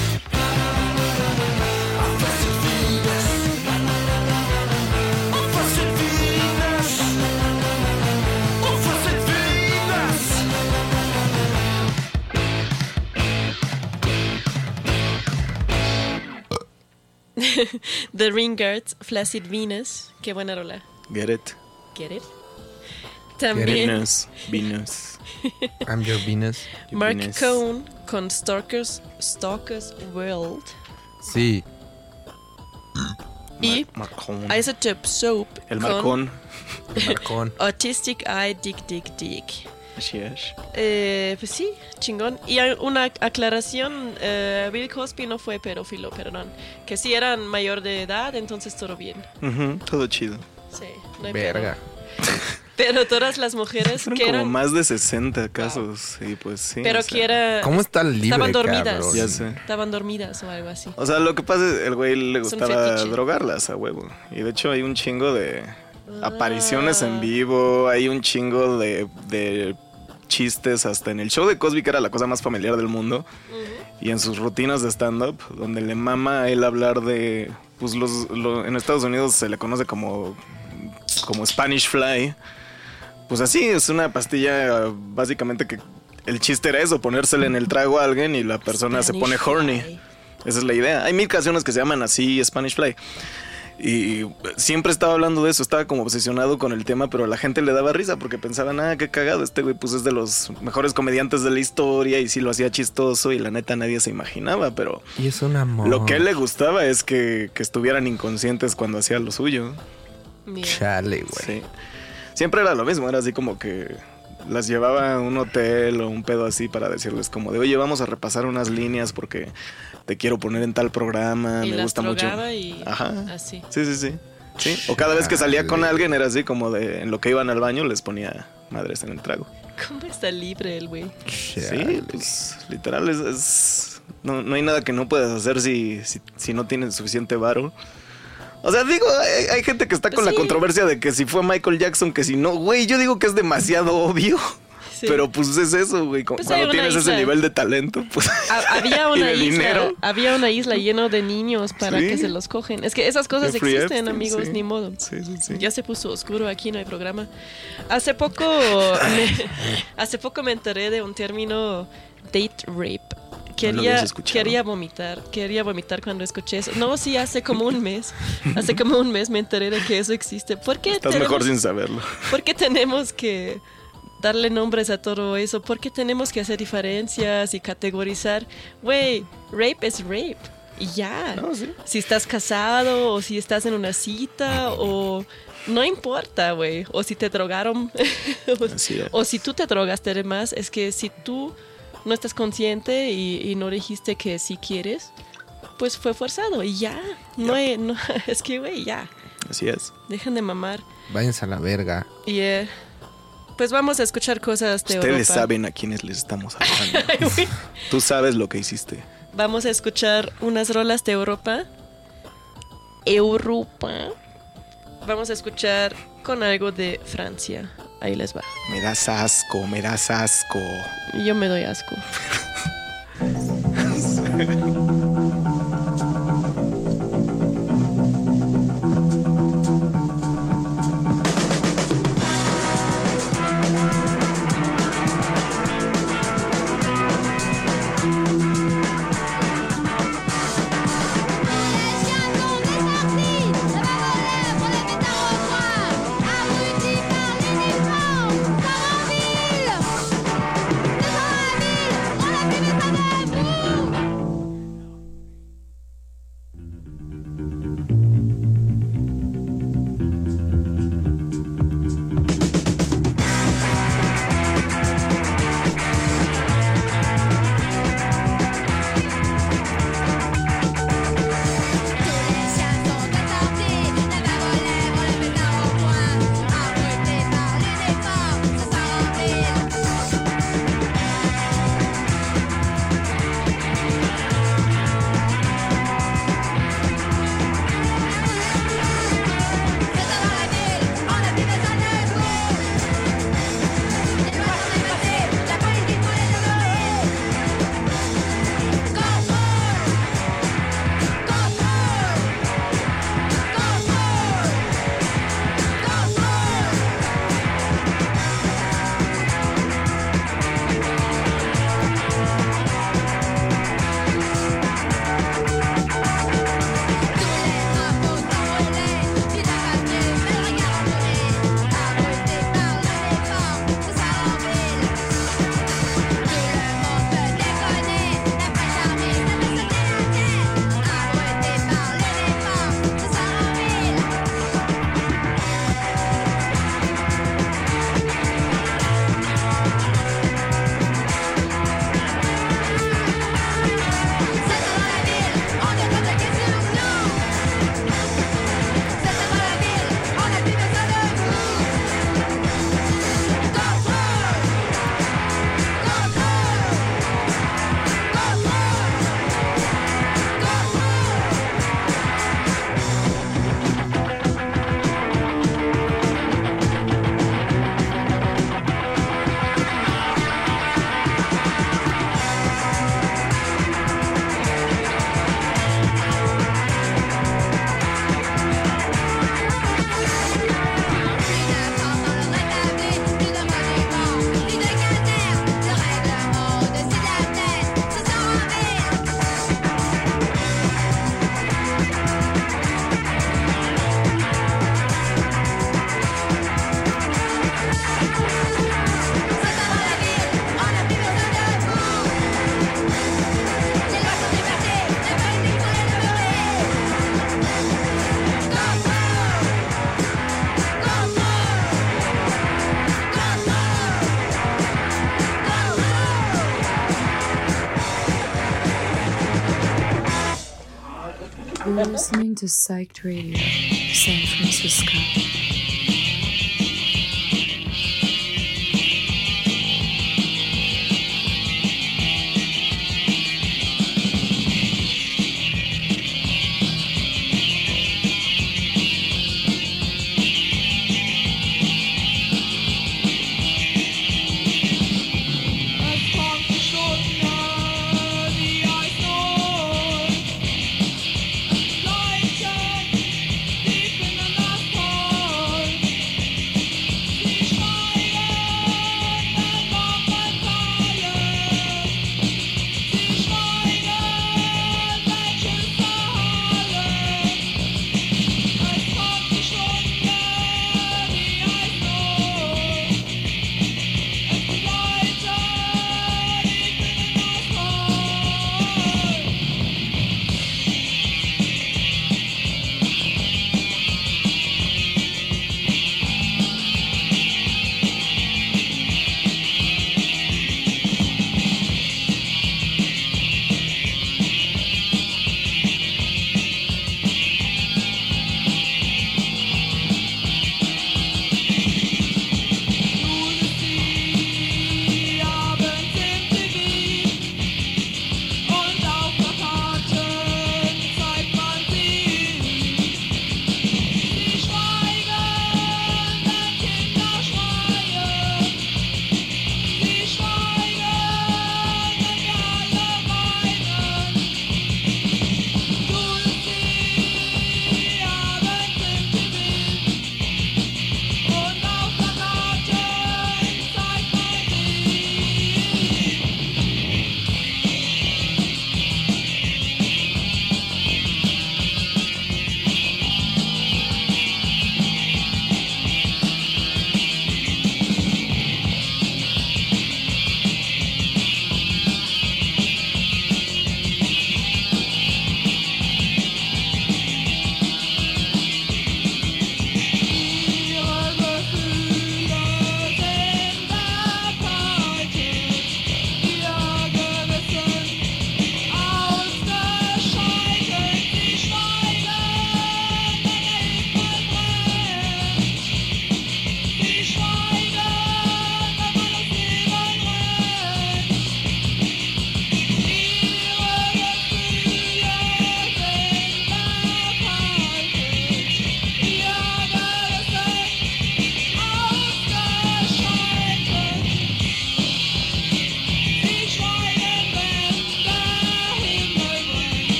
I'm first of Venus. I'm first of Venus. I'm first of Venus. The Ringards, Flaccid Venus. Qué buena rola. Get it. Get it? También Venus. I'm your Venus. Mark Venus. Cohn con Stalkers World. Sí. Y Marcón. Isotope Soap El con Marcón. Marcón. Autistic Eye Dick. Así es. Pues sí, chingón. Y hay una aclaración, Bill Cosby no fue pedófilo, perdón. Que sí eran mayor de edad, entonces todo bien. Ujú, todo chido. Sí, no hay Verga. pedo. Pero todas las mujeres Fueron que como eran... más de 60 casos. Y pues sí. Pero o sea, que era... ¿Cómo está libre, Estaban dormidas. cabrón? Ya sé. Estaban dormidas o algo así. O sea, lo que pasa es el güey le Es un gustaba fetiche. drogarlas a huevo. Y de hecho hay un chingo de apariciones en vivo, hay un chingo de chistes hasta en el show de Cosby, que era la cosa más familiar del mundo. Y en sus rutinas de stand-up, donde le mama a él hablar de... Pues en Estados Unidos se le conoce como Spanish Fly. Pues así, es una pastilla básicamente que el chiste era eso, ponérsela en el trago a alguien y la persona se pone horny. Fly. Esa es la idea. Hay 1000 canciones que se llaman así, Spanish Fly. Y siempre estaba hablando de eso, estaba como obsesionado con el tema, pero a la gente le daba risa porque pensaban, qué cagado, este güey pues es de los mejores comediantes de la historia y sí lo hacía chistoso y la neta nadie se imaginaba, pero Y es un amor. lo que a él le gustaba es que estuvieran inconscientes cuando hacía lo suyo. Mira. Chale, güey. Sí. Siempre era lo mismo, era así como que las llevaba a un hotel o un pedo así para decirles como de, oye, vamos a repasar unas líneas porque te quiero poner en tal programa, Y me las gusta mucho. drogaba y Ajá. así. Sí. Sí. O cada vez que salía con Chale. alguien era así como de, en lo que iban al baño les ponía madres en el trago. ¿Cómo está libre el güey? Sí, Chale. pues literal no hay nada que no puedas hacer si no tienes suficiente varo. O sea, digo, hay gente que está Pues con la sí. controversia de que si fue Michael Jackson, que si no, güey, yo digo que es demasiado obvio. Sí. Pero pues es eso, güey. Pues hay Cuando una tienes ese isla. nivel de talento, pues. Había y una de isla, dinero. había una isla lleno de niños para Sí. que se los cogen. Es que esas cosas Jeffrey existen, Epstein, amigos, sí. ni modo. Sí. Ya se puso oscuro aquí, no hay programa. Hace poco me enteré de un término date rape. No lo habías escuchado. Quería vomitar cuando escuché eso. No, sí, hace como un mes me enteré de que eso existe. ¿Por qué Estás mejor sin saberlo. ¿Por qué tenemos que darle nombres a todo eso? ¿Por qué tenemos que hacer diferencias y categorizar? Güey, rape es rape. Y ya. No, sí. Si estás casado o si estás en una cita o... No importa, güey. O si te drogaron. Así es. O si tú te drogaste además. Es que si tú no estás consciente y no dijiste que sí quieres, pues fue forzado. Y ya. No, es que, güey, ya. Así es. Dejan de mamar. Váyanse a la verga. Y pues vamos a escuchar cosas de Ustedes Europa. saben a quiénes les estamos hablando. Tú sabes lo que hiciste. vamos a escuchar unas rolas de Europa. Vamos a escuchar con algo de Francia. Ahí les va. Me das asco, me das asco. Yo me doy asco. You're listening to Psyched Radio, San Francisco. Deep in the last hole.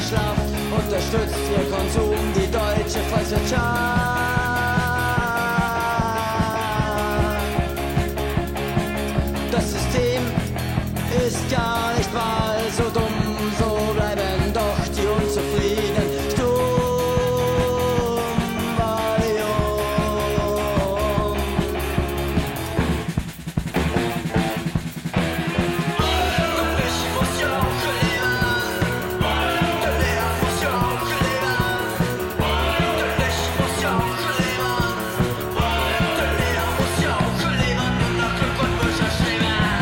schlaucht, unterstützt ihr Konsum die deutsche Volkswirtschaft. Das System ist gar nicht mal so dumm, so bleiben doch die Unzufriedenen stumm. Valium. Ich muss ja auch leben, der Lehrer muss ja auch leben, ich muss ja auch leben, der Lehrer muss ja auch leben und nach Glück und Bücher streben.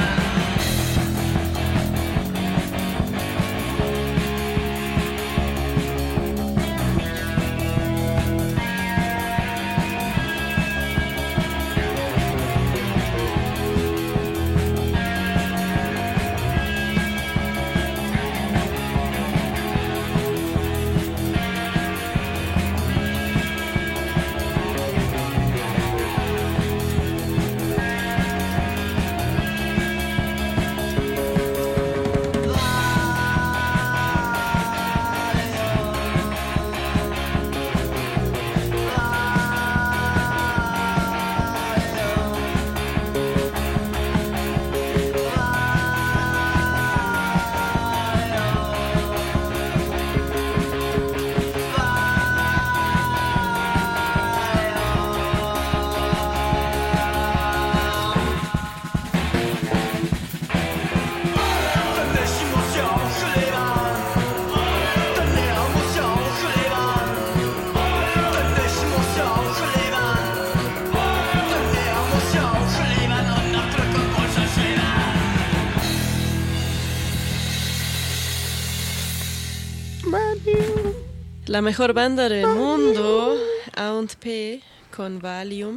La mejor banda del mundo, A&P, con Valium.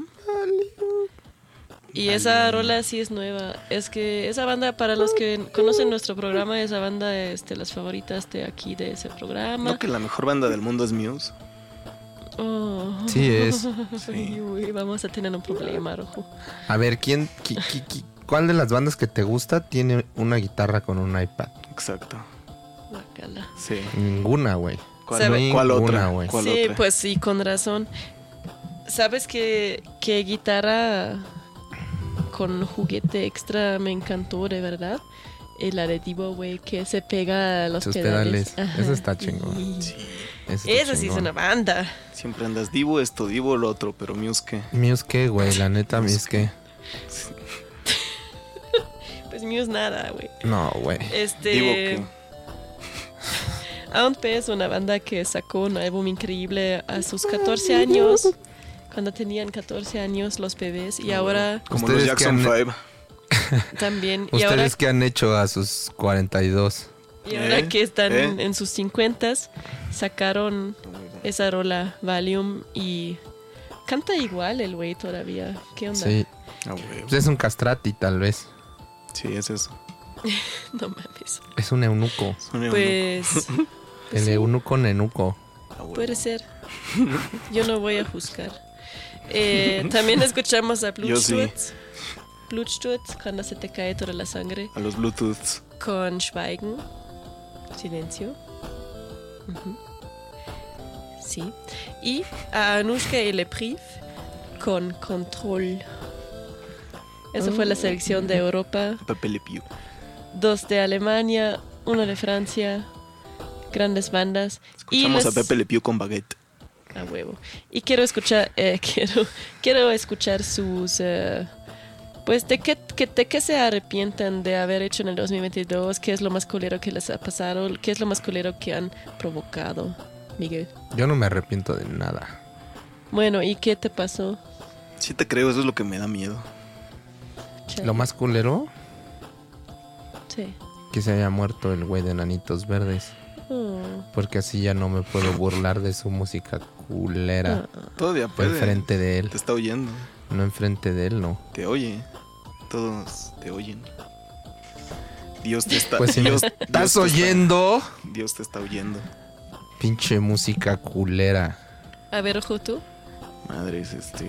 Y esa rola sí es nueva. Es que esa banda, para los que conocen nuestro programa, esa banda es de las favoritas de aquí, de ese programa. ¿No que la mejor banda del mundo es Muse? Oh. Sí es. Ay, uy, vamos a tener un problema, Rojo. A ver, ¿cuál de las bandas que te gusta tiene una guitarra con un iPad? Exacto. Guácala. Sí. Ninguna, güey. ¿Sabe? ¿Cuál otra? güey? ¿Cuál Sí, otra? pues sí, con razón. ¿Sabes qué guitarra con juguete extra me encantó, de verdad? La de Divo, güey, que se pega a los Sus pedales. pedales. Ajá. Eso está chingón. Sí. Eso está Esa sí es chingón. una banda. Siempre andas Divo esto, Divo lo otro, pero Muse ¿qué? Muse qué, güey, la neta, Muse qué. Pues Muse nada, güey. No, güey. Divo ¿qué? A&P es una banda que sacó un álbum increíble a sus 14 años. Cuando tenían 14 años los bebés. Y ahora Como los ¿Ustedes Jackson qué han- 5. también. Y ahora, ¿Ustedes qué han hecho a sus 42? y ahora que están ¿Eh? en sus 50s, sacaron esa rola Valium y canta igual el güey todavía. ¿Qué onda? Sí. Ah, güey. Pues es un castrati, tal vez. Sí, es eso. No mames. Es un eunuco. Son Pues El sí. eunuco nenuco. Ah, güey. puede ser. Yo no voy a juzgar. También escuchamos a Yo sí. Blutsturz. Blutsturz, cuando se te cae toda la sangre. A los Bluetooths. Con Schweigen. Silencio. Ujú. Sí. Y a Anushka y Le Priv con Control. Esa fue la selección de Europa. Pepe Le Pew. 2 de Alemania, 1 de Francia. Grandes bandas. Escuchamos les- a Pepe Le Pew con Baguette. A huevo. Y quiero escuchar, quiero escuchar sus, pues de qué se arrepientan de haber hecho en el 2022, qué es lo más culero que les ha pasado, qué es lo más culero que han provocado, Miguel. Yo no me arrepiento de nada. Bueno, ¿y qué te pasó? Sí te creo, eso es lo que me da miedo. Chale. Lo más culero, Sí. que se haya muerto el güey de Nanitos Verdes. Oh. Porque así ya no me puedo burlar de su música culera. Todavía puede. Enfrente de él. Te está oyendo. No enfrente de él, no. Te oye. Todos te oyen. Dios te está... Pues si me Dios, estás te oyendo, Dios te está oyendo. pinche música culera. A ver, ojo tú. Madres, puta.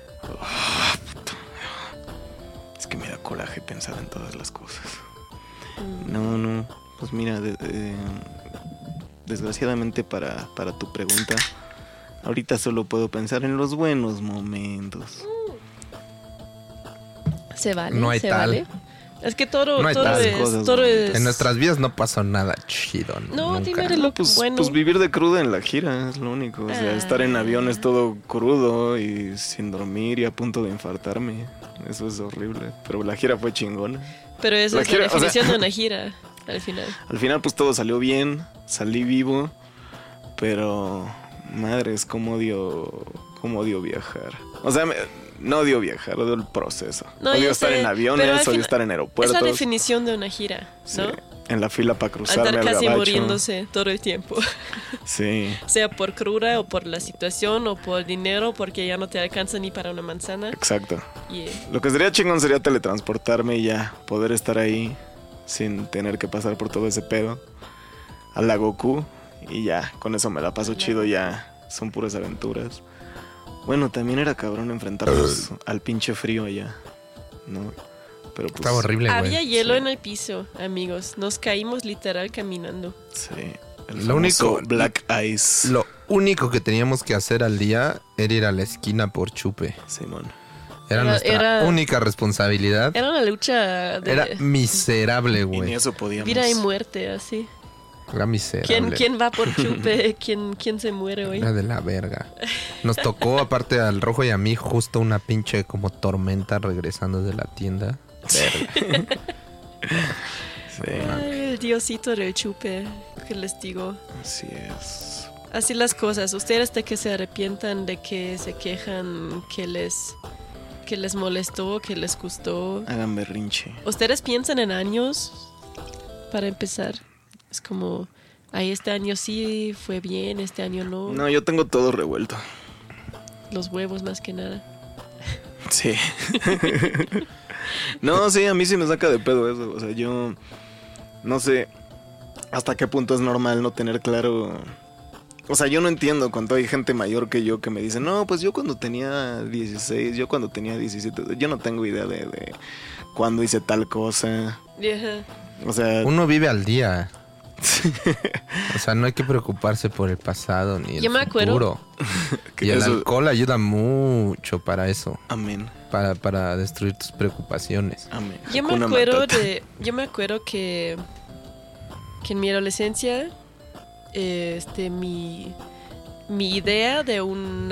Es que me da coraje pensar en todas las cosas. No. Pues mira, desgraciadamente para tu pregunta, ahorita solo puedo pensar en los buenos momentos. Se vale, No hay se tal. vale. Es que todo, No hay todo, tal es, cosas, todo es... En nuestras vidas no pasó nada chido. No, nunca. dime de lo que Pues, bueno. pues vivir de cruda en la gira es lo único. O sea, estar en aviones todo crudo y sin dormir y a punto de infartarme. Eso es horrible. Pero la gira fue chingona. Pero eso La es gira, la o sea- definición de una gira, al final. Al final pues todo salió bien, salí vivo, pero madres, cómo odio viajar. O sea, no odio viajar, odio el proceso. No, odio yo estar sé, en pero aviones, al odio final- estar en Es aeropuertos. la definición de una gira, Sí, ¿no? en la fila para cruzarme Andar al casi gabacho. muriéndose todo el tiempo. Sí, Sea por cruda o por la situación o por dinero, porque ya no te alcanza ni para una manzana. exacto. Y, Lo que sería chingón sería teletransportarme y ya poder estar ahí sin tener que pasar por todo ese pedo. A la Goku y ya, con eso me la paso chido, ya son puras aventuras. Bueno, también era cabrón enfrentarnos al pinche frío allá, ¿no? Pero pues... Estaba horrible, güey. había hielo sí. en el piso, amigos. Nos caímos literal caminando. Sí, el Lo famoso único- Black Ice. Lo único que teníamos que hacer al día era ir a la esquina por chupe. Simón. Era nuestra era- única responsabilidad. Era una lucha de Era miserable, Y ni güey. eso podíamos. vida y muerte, así. Era miserable. ¿Quién va por chupe? ¿Quién se muere hoy? Era de la verga. Nos tocó, aparte al Rojo y a mí, justo una pinche como tormenta regresando de la tienda. Verga. Sí, Ay, el diosito del chupe, que les digo. así es. Así las cosas. Ustedes de que se arrepientan, de que se quejan, que les molestó, que les gustó. Hagan berrinche. ¿Ustedes piensan en años para empezar? Es como, ay, este año sí fue bien, este año no. No, yo tengo todo revuelto. Los huevos más que nada. Sí. No, sí, a mí sí me saca de pedo eso. O sea, yo no sé hasta qué punto es normal no tener claro. O sea, yo no entiendo cuando hay gente mayor que yo que me dice, no, pues yo cuando tenía 16, yo cuando tenía 17, yo no tengo idea de cuándo hice tal cosa. Ajá. O sea, Uno vive al día. O sea, no hay que preocuparse por el pasado ni el Yo me acuerdo- futuro. que Y el eso- alcohol ayuda mucho para eso. Amén, Para destruir tus preocupaciones. amén. Yo me Hakuna acuerdo Matata. yo me acuerdo que en mi adolescencia, mi idea de un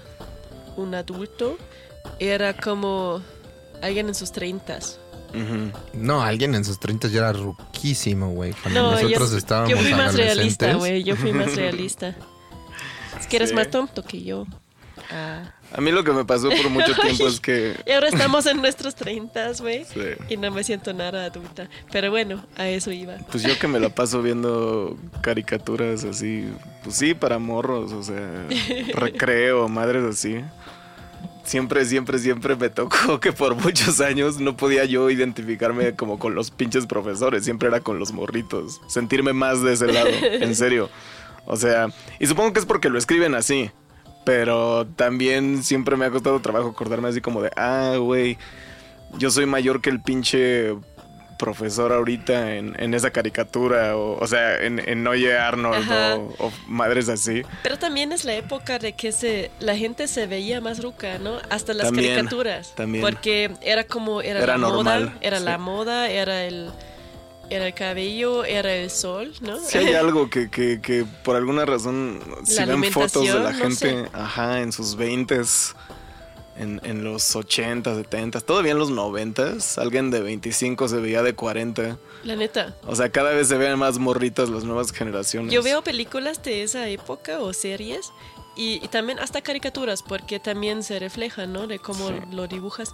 adulto era como alguien en sus 30s. Ujú. No, alguien en sus 30 ya era ruquísimo, güey. Cuando No, nosotros yo estábamos fui más realista, adolescentes. güey. Yo fui más realista. Es que eres Sí. más tonto que yo. Ah. A mí lo que me pasó por mucho tiempo es que... Y ahora estamos en nuestros 30s, güey. Sí. Y no me siento nada adulta. Pero bueno, a eso iba. Pues yo que me la paso viendo caricaturas así, pues sí, para morros, o sea, recreo, madres así. Siempre me tocó que por muchos años no podía yo identificarme como con los pinches profesores, siempre era con los morritos, sentirme más de ese lado, en serio. O sea, y supongo que es porque lo escriben así, pero también siempre me ha costado trabajo acordarme así como de, güey, yo soy mayor que el pinche profesor ahorita en esa caricatura, o sea, en Oye Arnold Ajá. o madres así. Pero también es la época de que la gente se veía más ruca, ¿no? Hasta las También, caricaturas. también. Porque era como, era Era la normal, moda, era sí. la moda, era el cabello, era el sol, ¿no? Si hay algo que por alguna razón, si La ven fotos de la alimentación, no gente, sé. ajá, en sus 20s, en los 80, 70, todavía en los 90s, alguien de 25 se veía de 40. La neta. O sea, cada vez se ven más morritas las nuevas generaciones. Yo veo películas de esa época o series y también hasta caricaturas porque también se reflejan, ¿no? De cómo Sí. lo dibujas.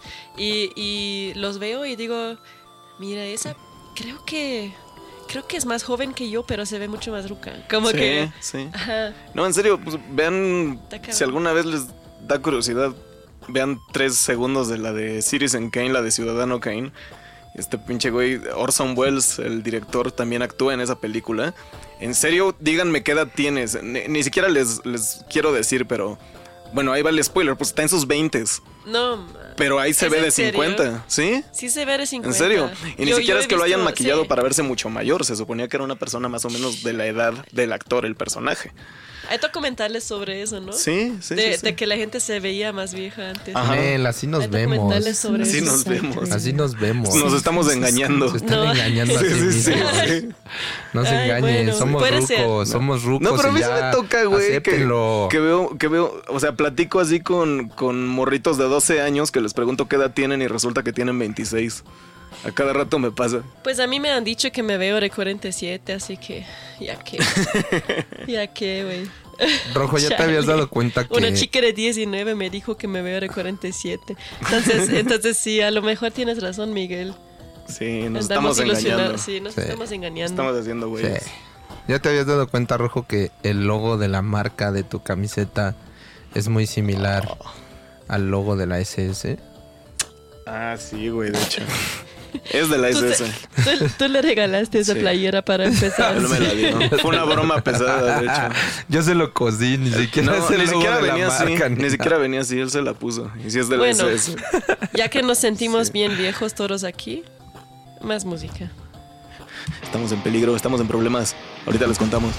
Y los veo y digo, mira, esa creo que es más joven que yo, pero se ve mucho más ruca. Como Sí, que... sí. Ajá. No, en serio, pues vean, Está cabrón. si alguna vez les da curiosidad, vean 3 segundos de la de Citizen Kane, la de Ciudadano Kane. Este pinche güey, Orson Welles, el director, también actúa en esa película. En serio, díganme qué edad tienes. Ni siquiera les quiero decir, pero... Bueno, ahí va el spoiler, pues está en sus 20s. No, man. Pero ahí se ¿Es ve en de serio? 50, ¿sí? Sí se ve de 50. ¿En serio? Y ni Yo siquiera he es que lo hayan visto, maquillado sí. para verse mucho mayor. Se suponía que era una persona más o menos de la edad del actor, el personaje. Hay documentales sobre eso, ¿no? Sí, sí, de, sí, sí. de que la gente se veía más vieja antes. Ajá. Nel, así nos Hay vemos. documentales sobre Así eso. nos vemos. Así nos vemos. Nos estamos engañando. Se están No. engañando a sí, Sí, sí, sí, mismos. sí. No se Ay, engañen, bueno, somos puede ser. rucos, somos rucos. No, pero a mí y sí ya, me toca, güey, acéptenlo. que veo, o sea, platico así con morritos de 12 años que les pregunto qué edad tienen y resulta que tienen 26. A cada rato me pasa. Pues a mí me han dicho que me veo de 47, así que ya que. Ya que, güey. Rojo, ya te Chale. habías dado cuenta que... Una chica de 19 me dijo que me veo de 47. Entonces sí, a lo mejor tienes razón, Miguel. Sí, nos Andamos estamos engañando. ilusionados, sí, nos Sí. estamos engañando. Estamos haciendo, güey. Sí. Ya te habías dado cuenta, Rojo, que el logo de la marca de tu camiseta es muy similar al logo de la SS. Ah, sí, güey, de hecho. Es de la Tú, SS. tú le regalaste esa Sí. playera para empezar. No me la di, ¿no? Fue una broma pesada, de hecho. Yo se lo cosí, ni siquiera No, es el ni logo siquiera de la venía así. marca, Ni nada. siquiera venía así, él se la puso. Y si es de la Bueno. SS. Ya que nos sentimos bien viejos todos aquí, más música. Estamos en peligro, estamos en problemas. Ahorita les contamos.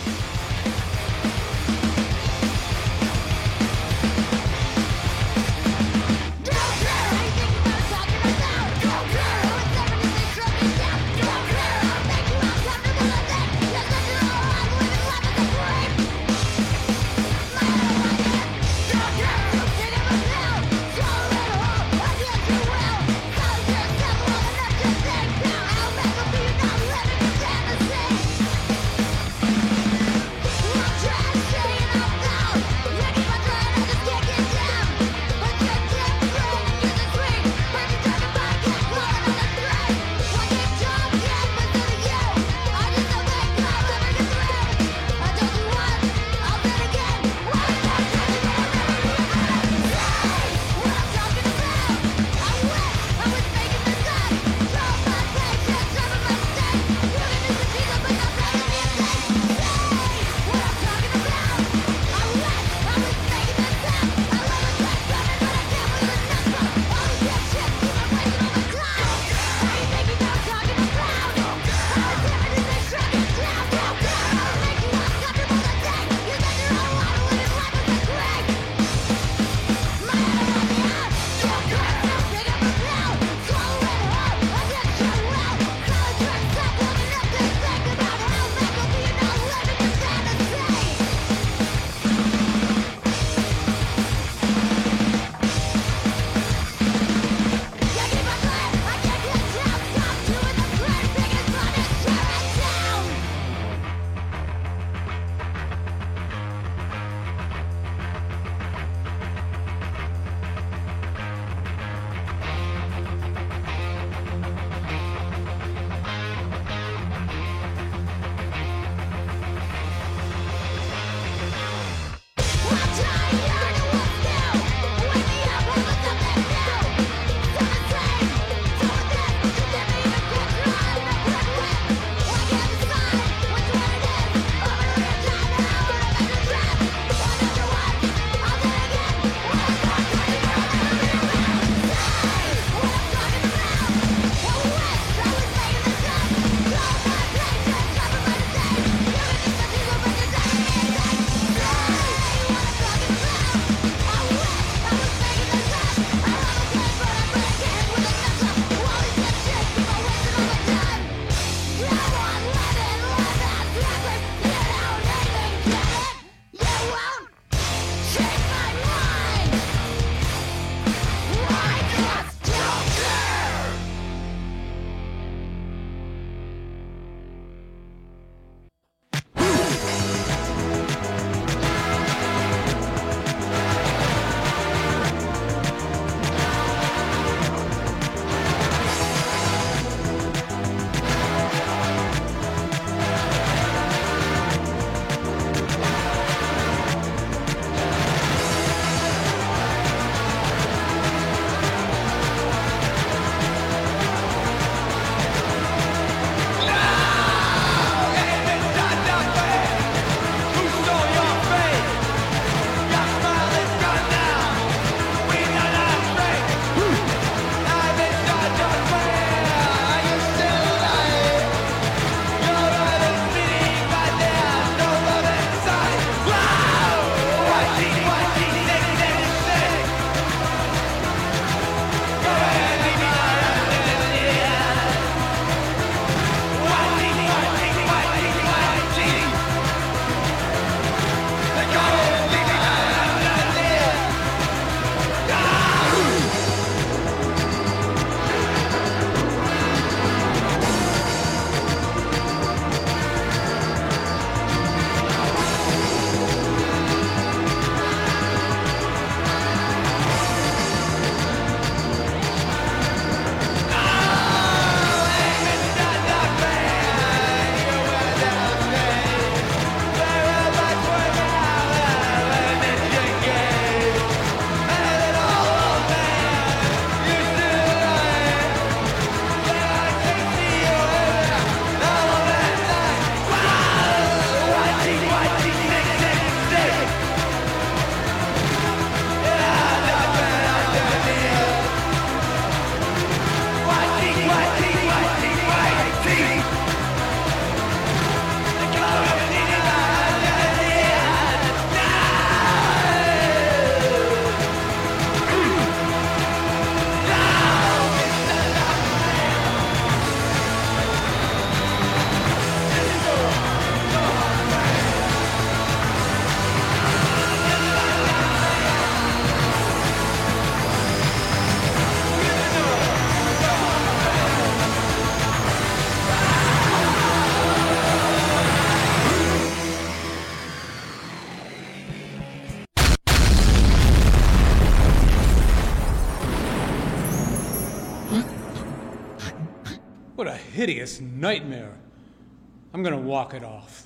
What a hideous nightmare. I'm gonna walk it off.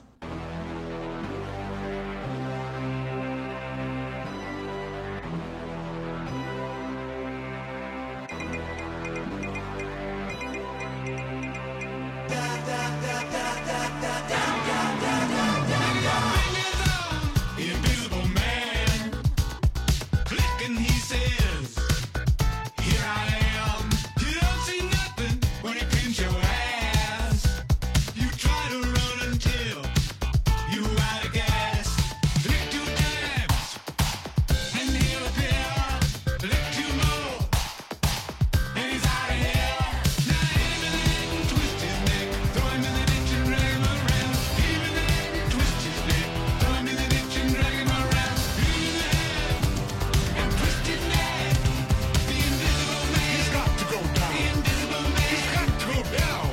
Invisible man, clicking, he says, "Here I am." You don't see nothing when he pins your ass. You try to run until you out of gas. Lick 2 times, and he'll appear. Lick 2 more, and he's out of here. Now hit him in the neck and twist his neck. Throw him in the ditch and drag him around. Hit him in the neck and twist his neck. Throw him in the ditch and drag him around. Hit him in the head and twist his neck. The invisible man. He's got to go down. The invisible man. He's got to go down.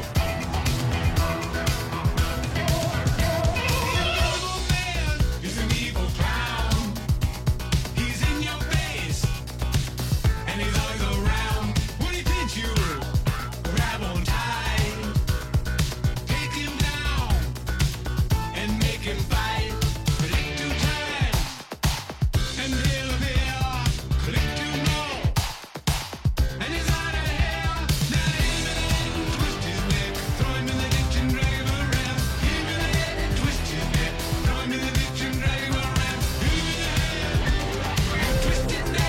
The invisible man is an evil clown. He's in your face and he's always around. When he pinch you, grab on tight. Take him down and make him fight. Click 2 times and he'll appear. Click 2 more and he's out of here. Now hit him in the head and twist his neck. Throw him in the ditch and drag him around. Hit him in the head and twist his neck. Throw him in the ditch and drag him around. Hit him in the head and twist his neck.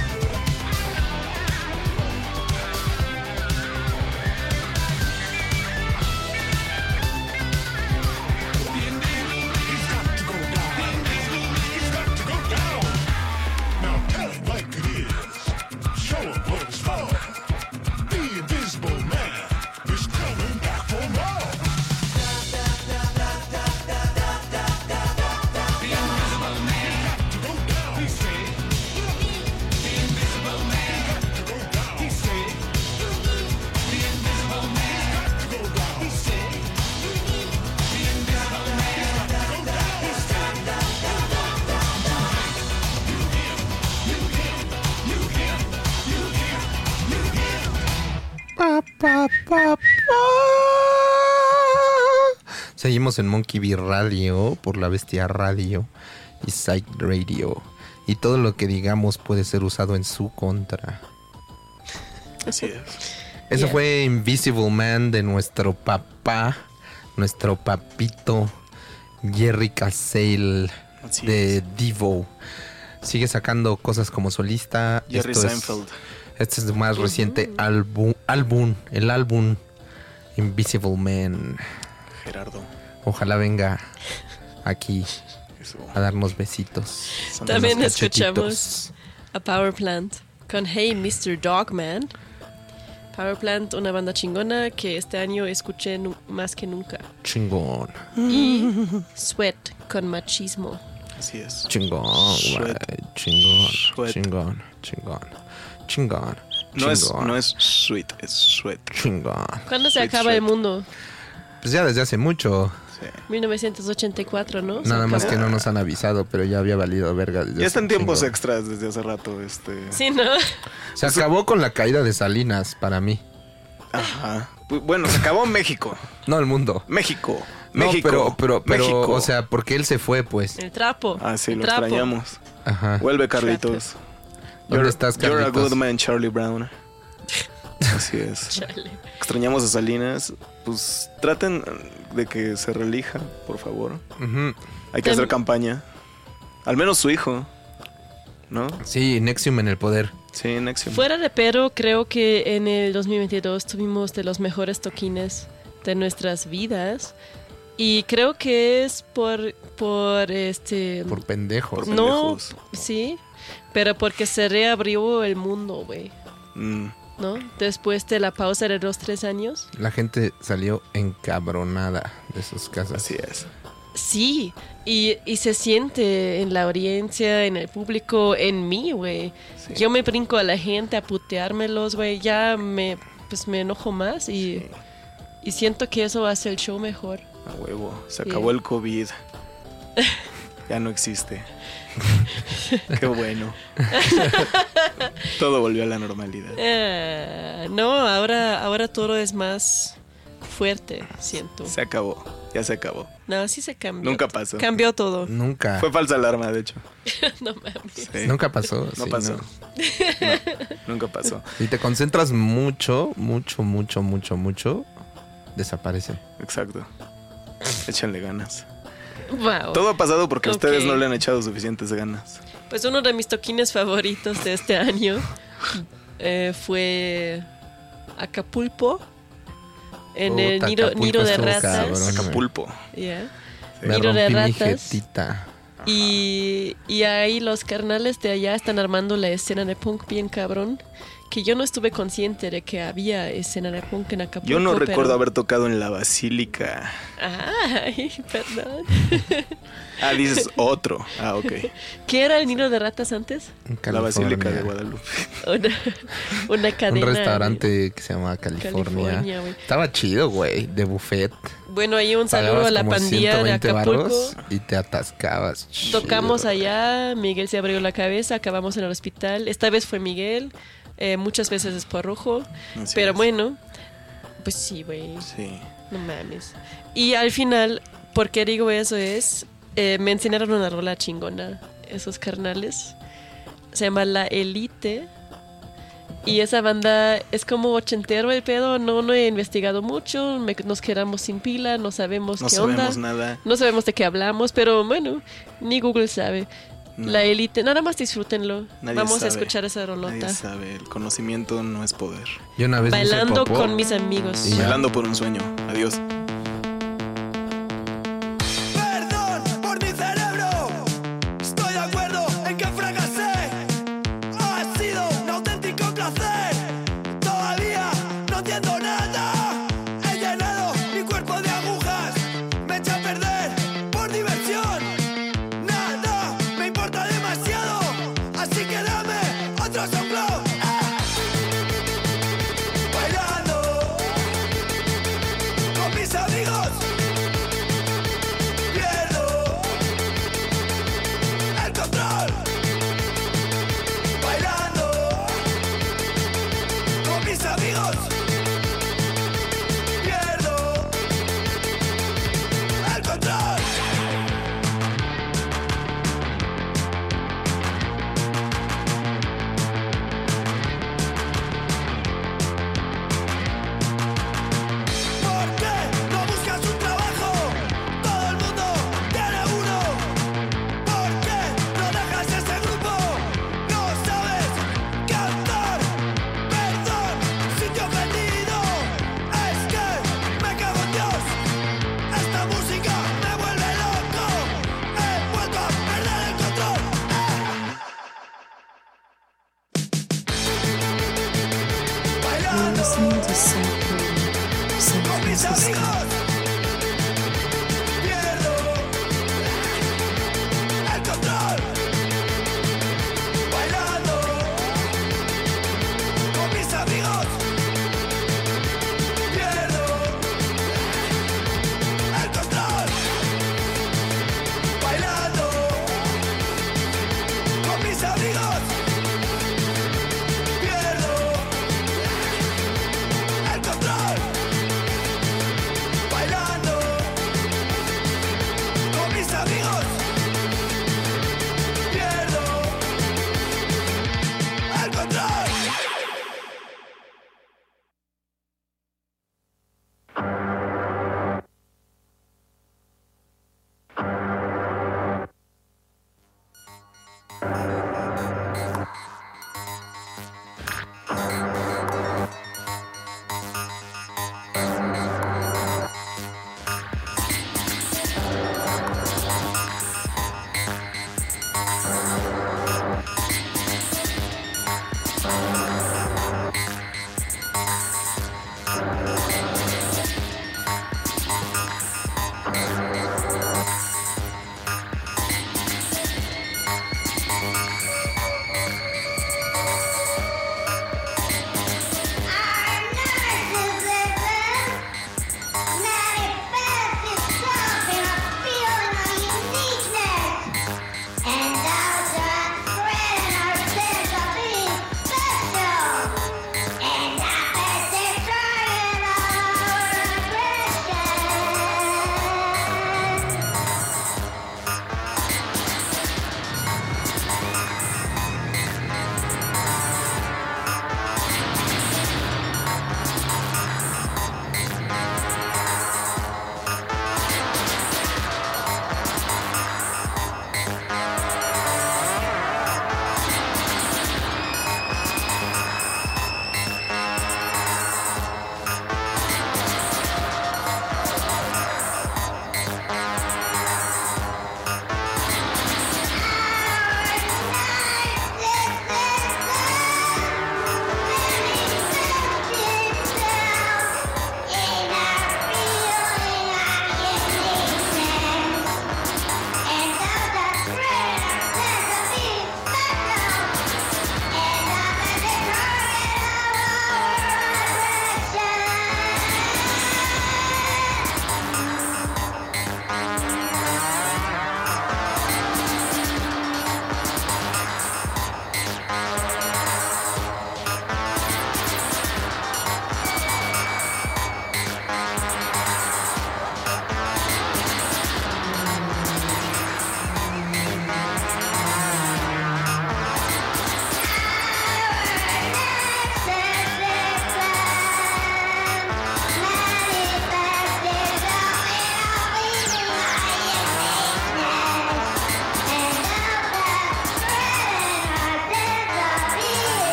The invisible man. He's got to go down. The invisible man. He's got to go down. Now tell it like it is. Show him what it's for. The invisible man is coming back for more. The invisible man got to go down. He said. The invisible man got to go down. He said. The invisible man got to go down. He said. The invisible man got to go down. He said. Seguimos en Monkey Bee Radio por la Bestia Radio y Psych Radio. Y todo lo que digamos puede ser usado en su contra. Así es. Eso Yeah. fue Invisible Man de nuestro papá, nuestro papito Jerry Casale Así de es. Devo. Sigue sacando cosas como solista. Jerry Esto es- Seinfeld. Este es su más reciente el álbum Invisible Man. Gerardo. Ojalá venga aquí Eso. a darnos besitos. Son También unos escuchamos a Power Plant con Hey Mr. Dogman. Power Plant, una banda chingona que este año escuché más que nunca. Chingón, Y Sweat con Machismo. Así es. chingón, güey. Chingón, Sweat. chingón, chingón, chingón. No es, chingón, no es sweet, es sweat. chingón. ¿Cuándo se Sweet acaba el Sweat. mundo? Pues ya desde hace mucho. Sí. 1984, ¿no? Se Nada más acabó. que no nos han avisado, pero ya había valido verga desde Ya hace están un tiempos chingo. extras desde hace rato. Sí, ¿no? Se acabó con la caída de Salinas para mí. Ajá. Bueno, se acabó México. No el mundo. México. No, México. pero, México. o sea, porque él se fue, pues. El trapo. Ah, sí, el lo trapo. extrañamos. Ajá. Vuelve, Carlitos. ¿Dónde estás, You're a Carlitos? good man, Charlie Brown. Así es. Chale. Extrañamos a Salinas. Pues traten de que se relija, por favor. Ujú. Hay que hacer campaña. Al menos su hijo. ¿No? Sí, Nexium en el poder. Sí, Nexium. Fuera de pero, creo que en el 2022 tuvimos de los mejores toquines de nuestras vidas. Y creo que es por Por pendejos. Por- no, pendejos. sí, pero porque se reabrió el mundo, güey, Mm, ¿no? Después de la pausa de los 3 años. La gente salió encabronada de sus casas. así es. Sí, y se siente en la audiencia, en el público, en mí, güey. Sí. Yo me brinco a la gente a puteármelos, güey, ya me enojo más y siento que eso hace el show mejor. A huevo. Se Sí. acabó el COVID. Ya no existe. Qué bueno. Todo volvió a la normalidad. No, ahora todo es más fuerte, siento. Se acabó. Ya se acabó. No, sí se cambió. Nunca pasó. Cambió todo. Nunca. Fue falsa alarma, de hecho. No mames. Sí. Nunca pasó. No sí, pasó. no. No, nunca pasó. Si te concentras mucho, desaparece. Exacto. Échanle ganas. Wow. Todo ha pasado porque Ok. ustedes no le han echado suficientes ganas. Pues uno de mis toquines favoritos de este año fue Acapulco. En el Puta, nido Acapulco de estuvo ratas. cabrón. Acapulco. Yeah. Me Nido de rompí mi ratas. jetita. Y ahí los carnales de allá están armando la escena de punk bien cabrón. Que yo no estuve consciente de que había escena de punk en Acapulco. Yo no pero- recuerdo haber tocado en la Basílica. Ay, perdón. Ah, dices otro. Ah, ok. ¿Qué era el nido de ratas antes? En La Basílica de California. Guadalupe. Una Un cadena. restaurante que se llama California. güey. Estaba chido, güey, de buffet. Bueno, ahí un saludo Pagabas a la como pandilla de 120 Acapulco. varos y te atascabas. Tocamos Chido. allá, Miguel se abrió la cabeza, acabamos en el hospital. Esta vez fue Miguel, muchas veces es por rojo. Así Pero es. bueno, pues sí, güey, Sí. no mames. Y al final, ¿por qué digo eso? Me enseñaron una rola chingona, esos carnales. Se llama La Elite. Y esa banda es como ochentero el pedo, no he investigado mucho, nos quedamos sin pila, no sabemos No qué sabemos onda. nada. No sabemos de qué hablamos, pero bueno, ni Google sabe. No. La Élite, nada más disfrútenlo. Nadie Vamos sabe. a escuchar esa Nadie rolota. sabe. El conocimiento no es poder. Yo una vez me hice Bailando popó. con mis amigos. Y ya. Bailando por un sueño. Adiós. Perdón por mi cerebro. Estoy de acuerdo en que fracasé. Ha sido un auténtico placer. Todavía no entiendo nada. He llenado mi cuerpo de agujas. Me eché a perder por diversión. Nada me importa demasiado. Así que dame otro soplo. Bailando con mis amigos. Pierdo el control. Bailando con mis amigos. Pierdo el control. ¿Por qué no buscas un trabajo? Todo el mundo tiene uno. ¿Por qué no dejas ese grupo? No sabes cantar. Perdón si te he ofendido. Es que me cago en Dios. Esta música me vuelve loco. He vuelto a perder el control. You're Bailando listening to Sample San con mis Francisco. amigos. Pierdo el control. Bailando con mis amigos. Pierdo el control. Bailando con mis amigos. Pierdo el control.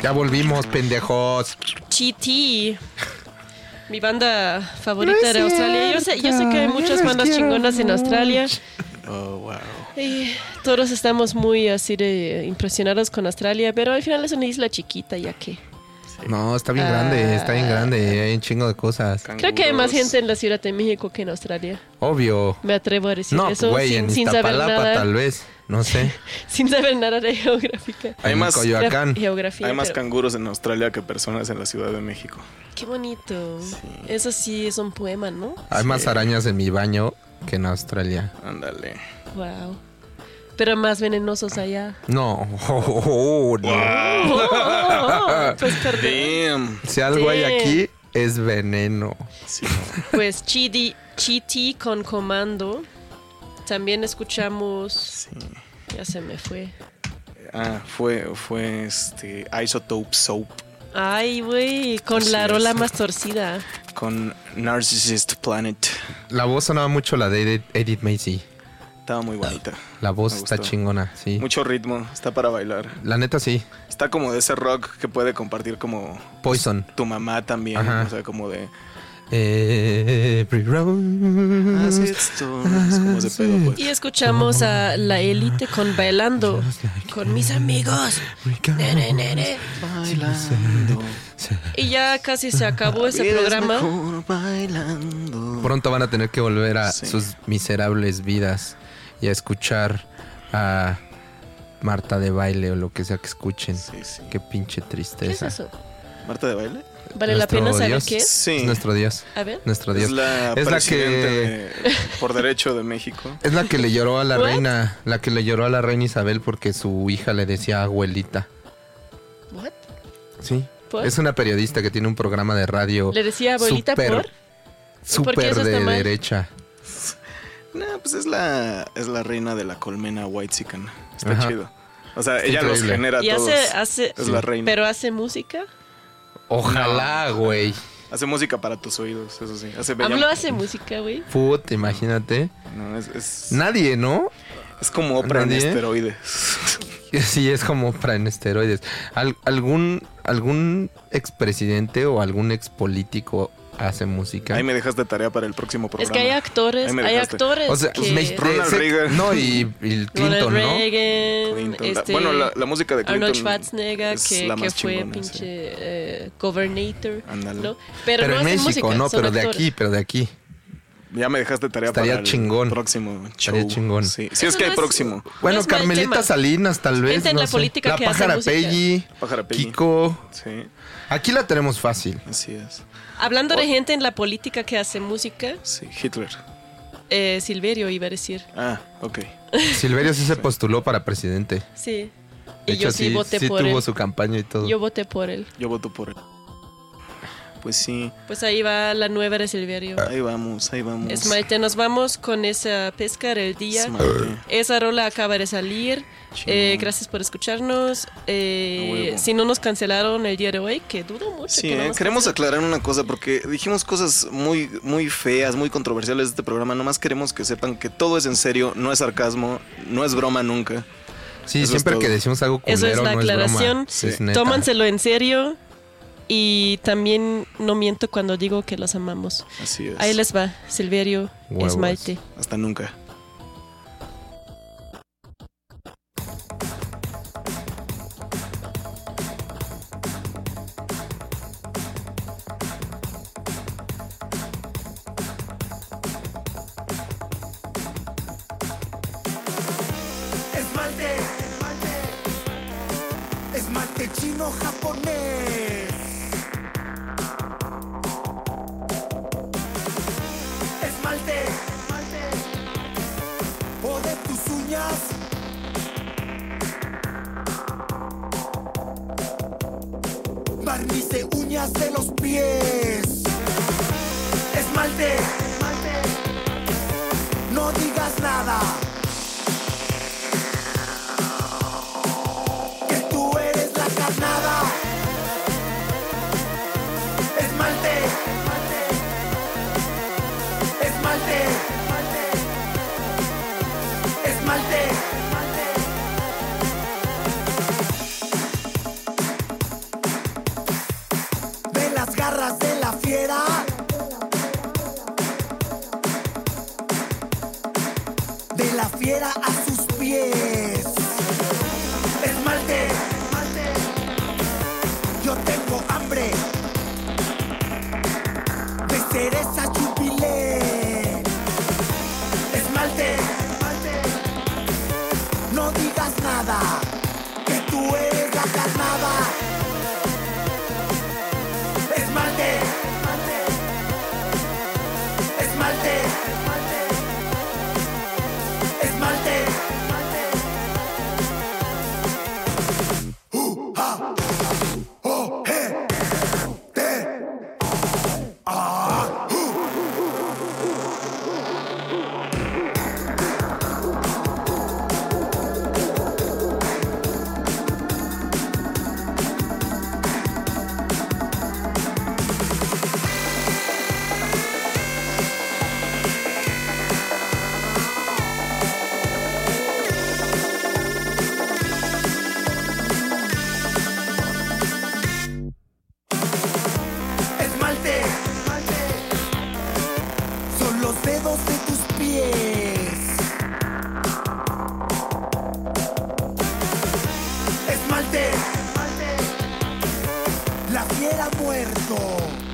Ya volvimos, pendejos. GT. Mi banda favorita de Australia. Yo sé que hay muchas bandas chingonas en Australia. Oh, wow. Y todos estamos muy así de impresionados con Australia, pero al final es una isla chiquita, ya que. No, está bien grande, está bien grande. Hay un chingo de cosas. Creo que hay más gente en la Ciudad de México que en Australia. Obvio. Me atrevo a decir No, eso güey, en sin saber Iztapalapa nada. tal vez. No sé. Sin saber nada de geográfica. Hay En más- Coyoacán. Geografía. Hay más pero- canguros en Australia que personas en la Ciudad de México. Qué bonito. Eso sí es un poema, ¿no? Hay más arañas en mi baño que en Australia. Ándale. Wow. Pero más venenosos allá. No. No. Pues perdón. Damn. Si algo hay Sí. aquí, es veneno. Sí, no. Pues Chiti con Comando. También escuchamos. Sí. Ya se me fue. Fue Isotope Soap Ay, güey, con Así la es. rola más torcida. con Narcissist Planet. La voz sonaba mucho la de Edith Macy. Estaba muy bonita. La voz Me está gustó. chingona, sí. Mucho ritmo, está para bailar. La neta sí. Está como de ese rock que puede compartir como Poison. tu mamá también. Ajá. O sea, como de... Every road. Así es como ese pedo, pues. Y escuchamos a La Élite con Bailando. Con mis amigos. Nene, nene. Bailando. Y ya casi se acabó ese Vida es programa. mejor bailando. Pronto van a tener que volver a Sí. sus miserables vidas y a escuchar a Marta de Baile o lo que sea que escuchen. Sí, sí. Qué pinche ¿Qué es tristeza. eso? ¿Marta de baile? ¿Vale la Nuestro pena saber Dios. qué es? Sí. Es nuestro Dios. A ver. Nuestro Es Dios. la Es la presidente que por derecho de México. es la que le lloró a la What? reina, la que le lloró a la reina Isabel porque su hija le decía abuelita. What? Sí. ¿Por? Es una periodista que tiene un programa de radio. Le decía abuelita súper- por. ¿Por qué Súper eso está de mal? derecha. No, pues es la reina de la colmena White Sican. Está Ajá. chido. O sea, Está ella los increíble. genera a Y todos. hace. Es la reina. Pero hace música. Ojalá, güey. Hace música para tus oídos, eso sí. Hace bella... AMLO hace música, güey. Puta, imagínate. No, es Nadie, ¿no? es como Oprah en ¿Nadie? esteroides. Sí, es como para en esteroides. ¿Algún expresidente o algún expolítico hace música? Ahí me dejas de tarea para el próximo programa. Es que hay actores, Ahí me hay dejaste. actores O sea, que... Ronald Reagan. No, y Clinton, Ronald ¿no? Reagan, Clinton. Bueno, la música de Clinton Arnold Schwarzenegger, es que la más fue chingona, pinche governator, Ándale. ¿no? Pero no en hacen México, música, no, son pero de actores. aquí. Ya me dejaste tarea Estaría para el chingón. próximo show. Estaría chingón. Sí, sí es Eso que hay no es- próximo. Bueno, es mal Carmelita tema. Salinas, tal vez. Gente en no la sé. política La que hace Pájara música. Peggy, Pájara Peggy. Kiko. Sí, Aquí la tenemos fácil. así es. Hablando de gente en la política que hace música, Sí, Hitler. Silverio iba a decir. Ah, ok. Silverio sí se postuló para presidente. Sí. De Y yo hecho, sí voté por tuvo él. su campaña y todo. Yo voté por él. Yo voto por él. Pues sí, Pues ahí va la nueva de Silverio. ahí vamos, ahí vamos. Esmalte, nos vamos con esa pesca del día. Esmalte. Esa rola acaba de salir. Chingón. Gracias por escucharnos. huevo. Si no nos cancelaron el día de hoy, que dudo mucho. Sí, que no nos queremos cancelen. aclarar una cosa porque dijimos cosas muy, muy feas, muy controversiales de este programa. Nomás queremos que sepan que todo es en serio, no es sarcasmo, no es broma nunca. Sí, Eso es siempre todo. que decimos algo culero, Eso es la no aclaración. Es broma. Es neta. Tómanselo en serio. Y también no miento cuando digo que los amamos. Así es. Ahí les va, Silverio, Huevos. Esmalte. Hasta nunca. Esmalte, esmalte chino japonés. Esmalte, o de tus uñas. Barniz de uñas de los pies. Esmalte, no digas nada. Que tú eres la carnada. Esmalte, esmalte, esmalte. Teresa Jubilé. Esmalte, no digas nada, que tú eres la carnada. Esmalte, esmalte, esmalte. Ha, oh, he, te, ah, esmalte, son los dedos de tus pies. Esmalte, la fiera ha muerto.